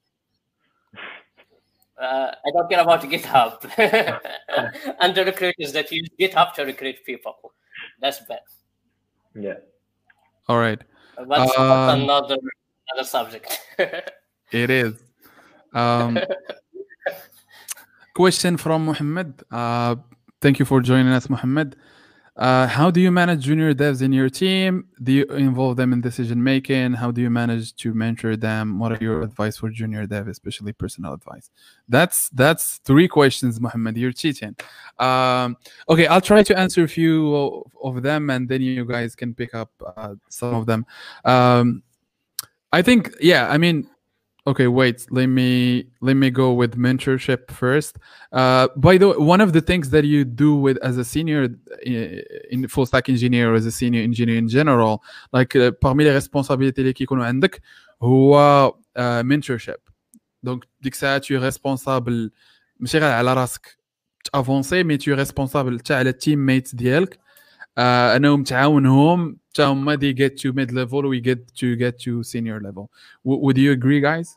[SPEAKER 3] Uh, I don't care about GitHub and the recruiters that use GitHub to recruit people. That's bad.
[SPEAKER 2] Yeah.
[SPEAKER 1] All right.
[SPEAKER 3] But um, that's another another subject.
[SPEAKER 1] It is. Um, question from Mohammed. Uh, thank you for joining us, Mohammed. Uh, how do you manage junior devs in your team? Do you involve them in decision making? How do you manage to mentor them? What are your advice for junior dev, especially personal advice? That's that's three questions, Mohammed. You're cheating. Um, okay, I'll try to answer a few of them, and then you guys can pick up uh, some of them. Um, I think, yeah. I mean, okay. Wait. Let me let me go with mentorship first. Uh, by the way, one of the things that you do with as a senior in full stack engineer or as a senior engineer in general, like uh, parmi les responsabilités اللي كيكونوا عندك هو uh, mentorship. Donc ديك الساعة tu es responsable ماشي غير على راسك تافونسي مي tu es responsable حتى على التيم ميتس ديالك uh, انهم تعاونهم حتى هما they get to mid level we get to get to senior level. W- would you agree, guys?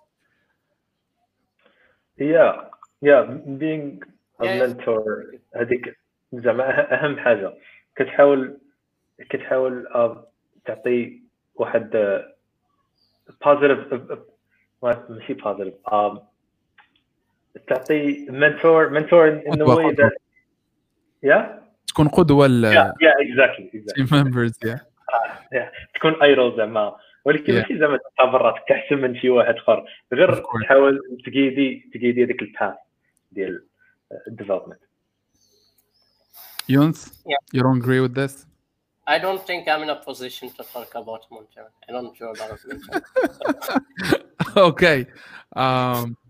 [SPEAKER 2] Yeah, yeah. Being a yeah. mentor هذيك زعما أهم حاجة. كتحاول كتحاول تعطي واحد positive ماشي positive um, تعطي mentor mentor in the way that yeah
[SPEAKER 1] تكون قدوة ل
[SPEAKER 2] yeah yeah exactly exactly
[SPEAKER 1] team members yeah
[SPEAKER 2] yeah تكون idol زعما ولكن ماشي زعما تعتبر راسك احسن من شي واحد اخر غير تحاول تقيدي تقيدي هذيك الباث ديال الديفلوبمنت.
[SPEAKER 1] Younes, yeah. You don't agree with this?
[SPEAKER 3] I don't think I'm in a position to talk about mentoring. I don't know about mentoring.
[SPEAKER 1] Okay. Um,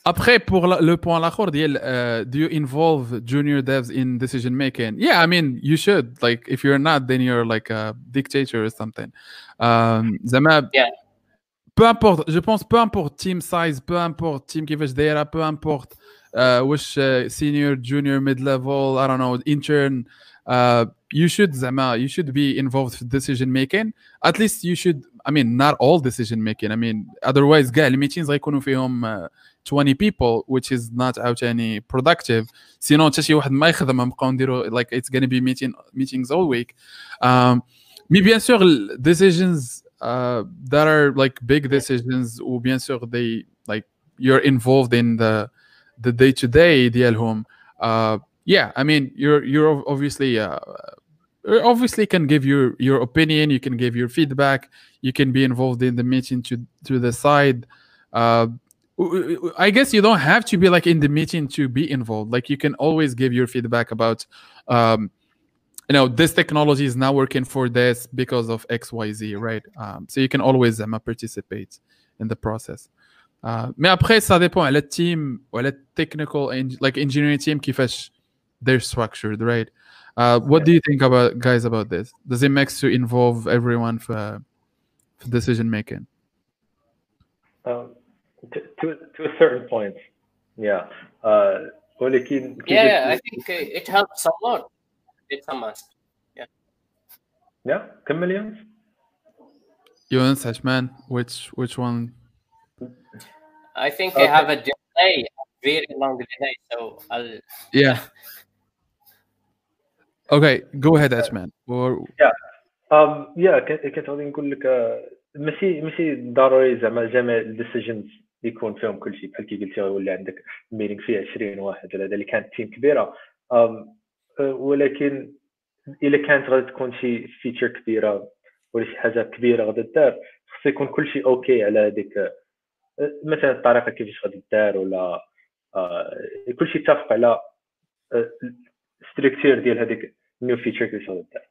[SPEAKER 1] Après, pour la- le point l'akhor ديال uh, do you involve junior devs in decision making? Yeah, I mean you should. Like if you're not, then you're like a dictator or something. Um, زعما
[SPEAKER 3] Yeah.
[SPEAKER 1] peu importe, je pense peu importe team size, peu importe team كيفاش دايره, peu importe uh, واش uh, senior, junior, mid level, I don't know, intern. Uh, you should زعما you should be involved in decision making. At least you should. I mean not all decision making. I mean otherwise كاع الميتينز غيكونوا فيهم uh, twenty people, which is not عاوتاني productive. Sinon حتى شي واحد ما يخدم نبقاو نديرو like it's gonna be meeting meetings all week. Um, mais bien sûr decisions uh, that are like big decisions ou bien sûr they like you're involved in the the day to day ديالهم. Uh, yeah, I mean you're you're obviously uh, you obviously can give your your opinion, you can give your feedback, you can be involved in the meeting to to the side. Uh, I guess you don't have to be like in the meeting to be involved. Like you can always give your feedback about, um, you know, this technology is not working for this because of X, Y, Z, right? Um, so you can always um, participate in the process. Uh, mais après, ça dépend à la team ou à la technical, like engineering team, كيفاش they're structured, right? Uh, what do you think about guys about this? Does it make sense to involve everyone for, for decision making?
[SPEAKER 2] Um, To, to, to a certain point, yeah. Uh, ولكن
[SPEAKER 3] yeah, I think it helps a lot. It's a must. Yeah.
[SPEAKER 2] Yeah. كم مليون؟
[SPEAKER 1] Yunus, Hashman, which which one?
[SPEAKER 3] I think okay. I have a delay, a very long delay, so I'll.
[SPEAKER 1] Yeah. Okay, go ahead, Hashman. Or
[SPEAKER 2] yeah. Um. Yeah. كنت غادي نقول لك ماشي ماشي ضروري زعما جميع الديسيجنز يكون فيهم كل شيء بحال كي قلتي ولا عندك ميتينغ فيه عشرين واحد ولا هذا اللي كانت تيم كبيره. ولكن الا كانت غادي تكون شي فيتشر كبيره ولا شي حاجه كبيره غادي دار خص يكون كل شيء اوكي على هذيك مثلا الطريقه كيفاش غادي دار ولا كل شيء يتفق على ستركتير ديال هذيك نيو فيتشر كيفاش غادي دار.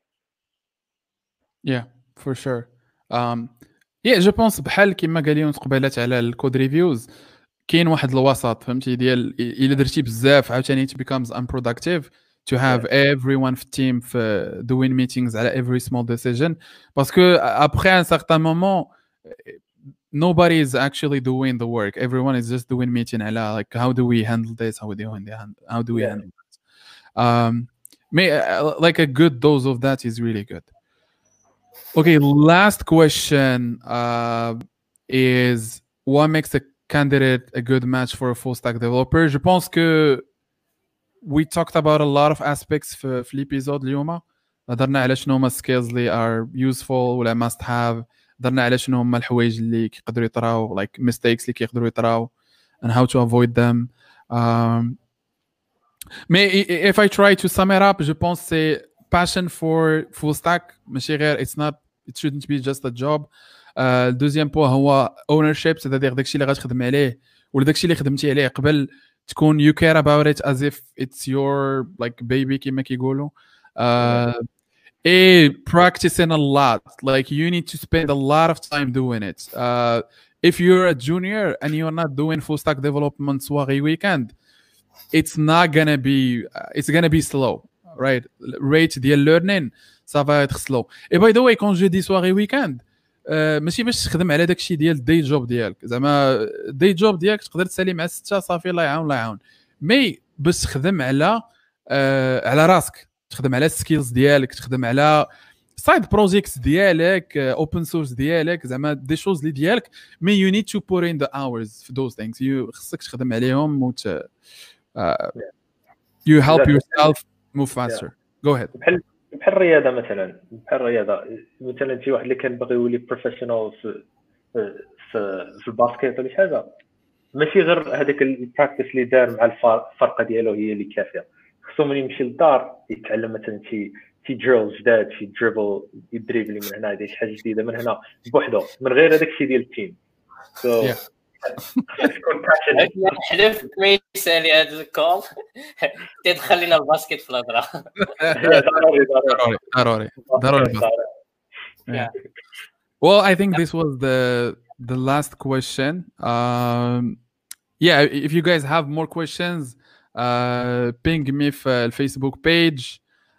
[SPEAKER 1] Yeah, for sure. Um, yeah, جو بونس بحال كيما قال يونس قبيلات على الكود ريفيوز كاين واحد الوسط فهمتي ديال الا درتي بزاف عاوتاني it becomes unproductive to have yeah. everyone في team في doing meetings على every small decision باسكو après un certain moment nobody is actually doing the work, everyone is just doing meeting على like how do we handle this, how do we handle how do we yeah. handle that. Um, may, uh, like a good dose of that is really good. Okay, last question uh, is what makes a candidate a good match for a full stack developer? Je pense que we talked about a lot of aspects في في الابيزود اليوم. هضرنا على شنو هما skills اللي are useful ولا must have. هضرنا على شنو هما الحوايج اللي كيقدروا يطراو like mistakes اللي كيقدروا يطراو and how to avoid them. Um, mais if I try to sum it up, je pense c'est passion for full stack. ماشي غير it's not it shouldn't be just a job. الدوزيام بو هو ownership, c'est-à-dire داكشي اللي غتخدم عليه ولا داكشي اللي خدمتي عليه قبل تكون you care about it as if it's your like baby كما كيقولوا. uh, and practicing a lot, like you need to spend a lot of time doing it. Uh, if you're a junior and you're not doing full stack development soirée weekend, it's not gonna be uh, it's gonna be slow, right? Rate ديال learning ça va être slow. Et by the way, quand je dis soirée weekend, ماشي باش تخدم على داكشي ديال الدي جوب ديالك زعما الدي جوب ديالك تقدر تسالي مع ستة صافي الله يعاون الله يعاون مي باش تخدم على آه على راسك تخدم على السكيلز ديالك تخدم على سايد بروجيكتس ديالك اوبن سورس ديالك زعما دي شوز اللي ديالك مي يو نيد تو بوت ان ذا اورز في دوز ثينكس يو خصك تخدم عليهم وت يو هيلب يور سيلف موف فاستر جو هيد
[SPEAKER 2] بحال بحال الرياضه مثلا بحال الرياضه مثلا شي واحد اللي كان باغي يولي بروفيشنال في في في الباسكيت ولا شي حاجه ماشي غير هذاك البراكتيس اللي دار مع الفرقه ديالو هي اللي كافيه خصو ملي يمشي للدار يتعلم مثلا شي شي دريل جداد شي دريبل يدريبلي من هنا يدير شي حاجه جديده من هنا بوحدو من غير هذاك الشيء ديال التيم سو
[SPEAKER 3] حلفت ما يسالي هذا الكول تدخل لنا الباسكت في الهضره
[SPEAKER 2] ضروري ضروري
[SPEAKER 1] ضروري ضروري Well, I think this was the the last question. Um, yeah, if you guys have more questions, uh, ping me في الفيسبوك page.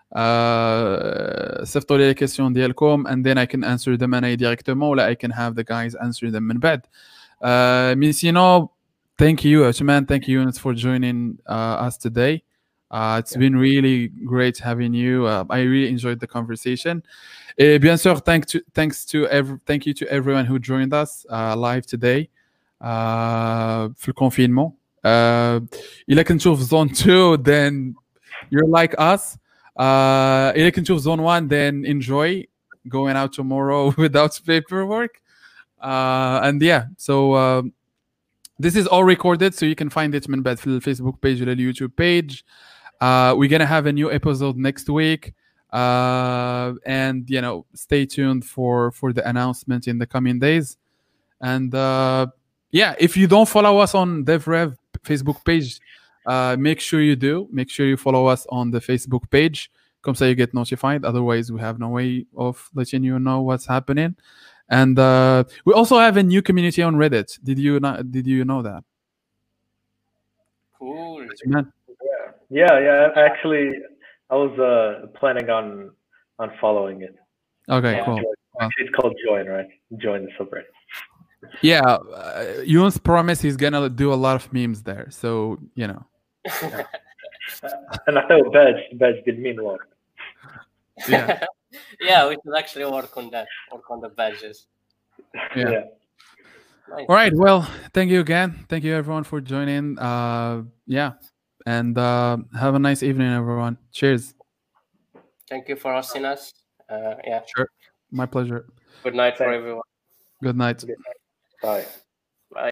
[SPEAKER 1] صيفطوا لي les questions ديالكم and then I can answer them أنا directement ولا I can have the guys answer them من بعد. Uh, mais sinon, thank you, Ashman. Thank you, Yunus, for joining uh, us today. Uh, it's yeah. been really great having you. Uh, I really enjoyed the conversation. Et bien sûr, thank to, thanks to every, thank you to everyone who joined us uh, live today. Uh, في الconfinement. Uh, إلا كنتو في zone two, then you're like us. Uh, إلا كنتو في zone one, then enjoy going out tomorrow without paperwork. Uh, and yeah, so uh, this is all recorded, so you can find it من بعد في الفيسبوك page ولا اليوتيوب page. Uh, we're gonna have a new episode next week, uh, and you know, stay tuned for for the announcement in the coming days. And uh, yeah, if you don't follow us on DevRev Facebook page, uh, make sure you do. Make sure you follow us on the Facebook page. Comme ça, you get notified. Otherwise, we have no way of letting you know what's happening. And uh, we also have a new community on Reddit. Did you not? Did you know that?
[SPEAKER 3] Cool.
[SPEAKER 2] Man. Yeah, yeah. Actually, I was uh, planning on on following it.
[SPEAKER 1] Okay,
[SPEAKER 2] yeah,
[SPEAKER 1] cool.
[SPEAKER 2] Actually, it's called Join, right? Join the subreddit.
[SPEAKER 1] Yeah, uh, Yunus promised he's gonna do a lot of memes there, so you know.
[SPEAKER 2] And I thought badge, badge did mean work.
[SPEAKER 1] Yeah.
[SPEAKER 3] Yeah, we should actually work on that. Work on the badges.
[SPEAKER 1] Yeah.
[SPEAKER 2] yeah.
[SPEAKER 1] Nice. All right. Well, thank you again. Thank you everyone for joining. Uh, yeah, and uh, have a nice evening, everyone. Cheers.
[SPEAKER 3] Thank you for hosting us. Uh, yeah.
[SPEAKER 1] Sure. My pleasure.
[SPEAKER 3] Good night
[SPEAKER 2] Thanks.
[SPEAKER 3] for everyone.
[SPEAKER 1] Good night.
[SPEAKER 2] Good night. Bye.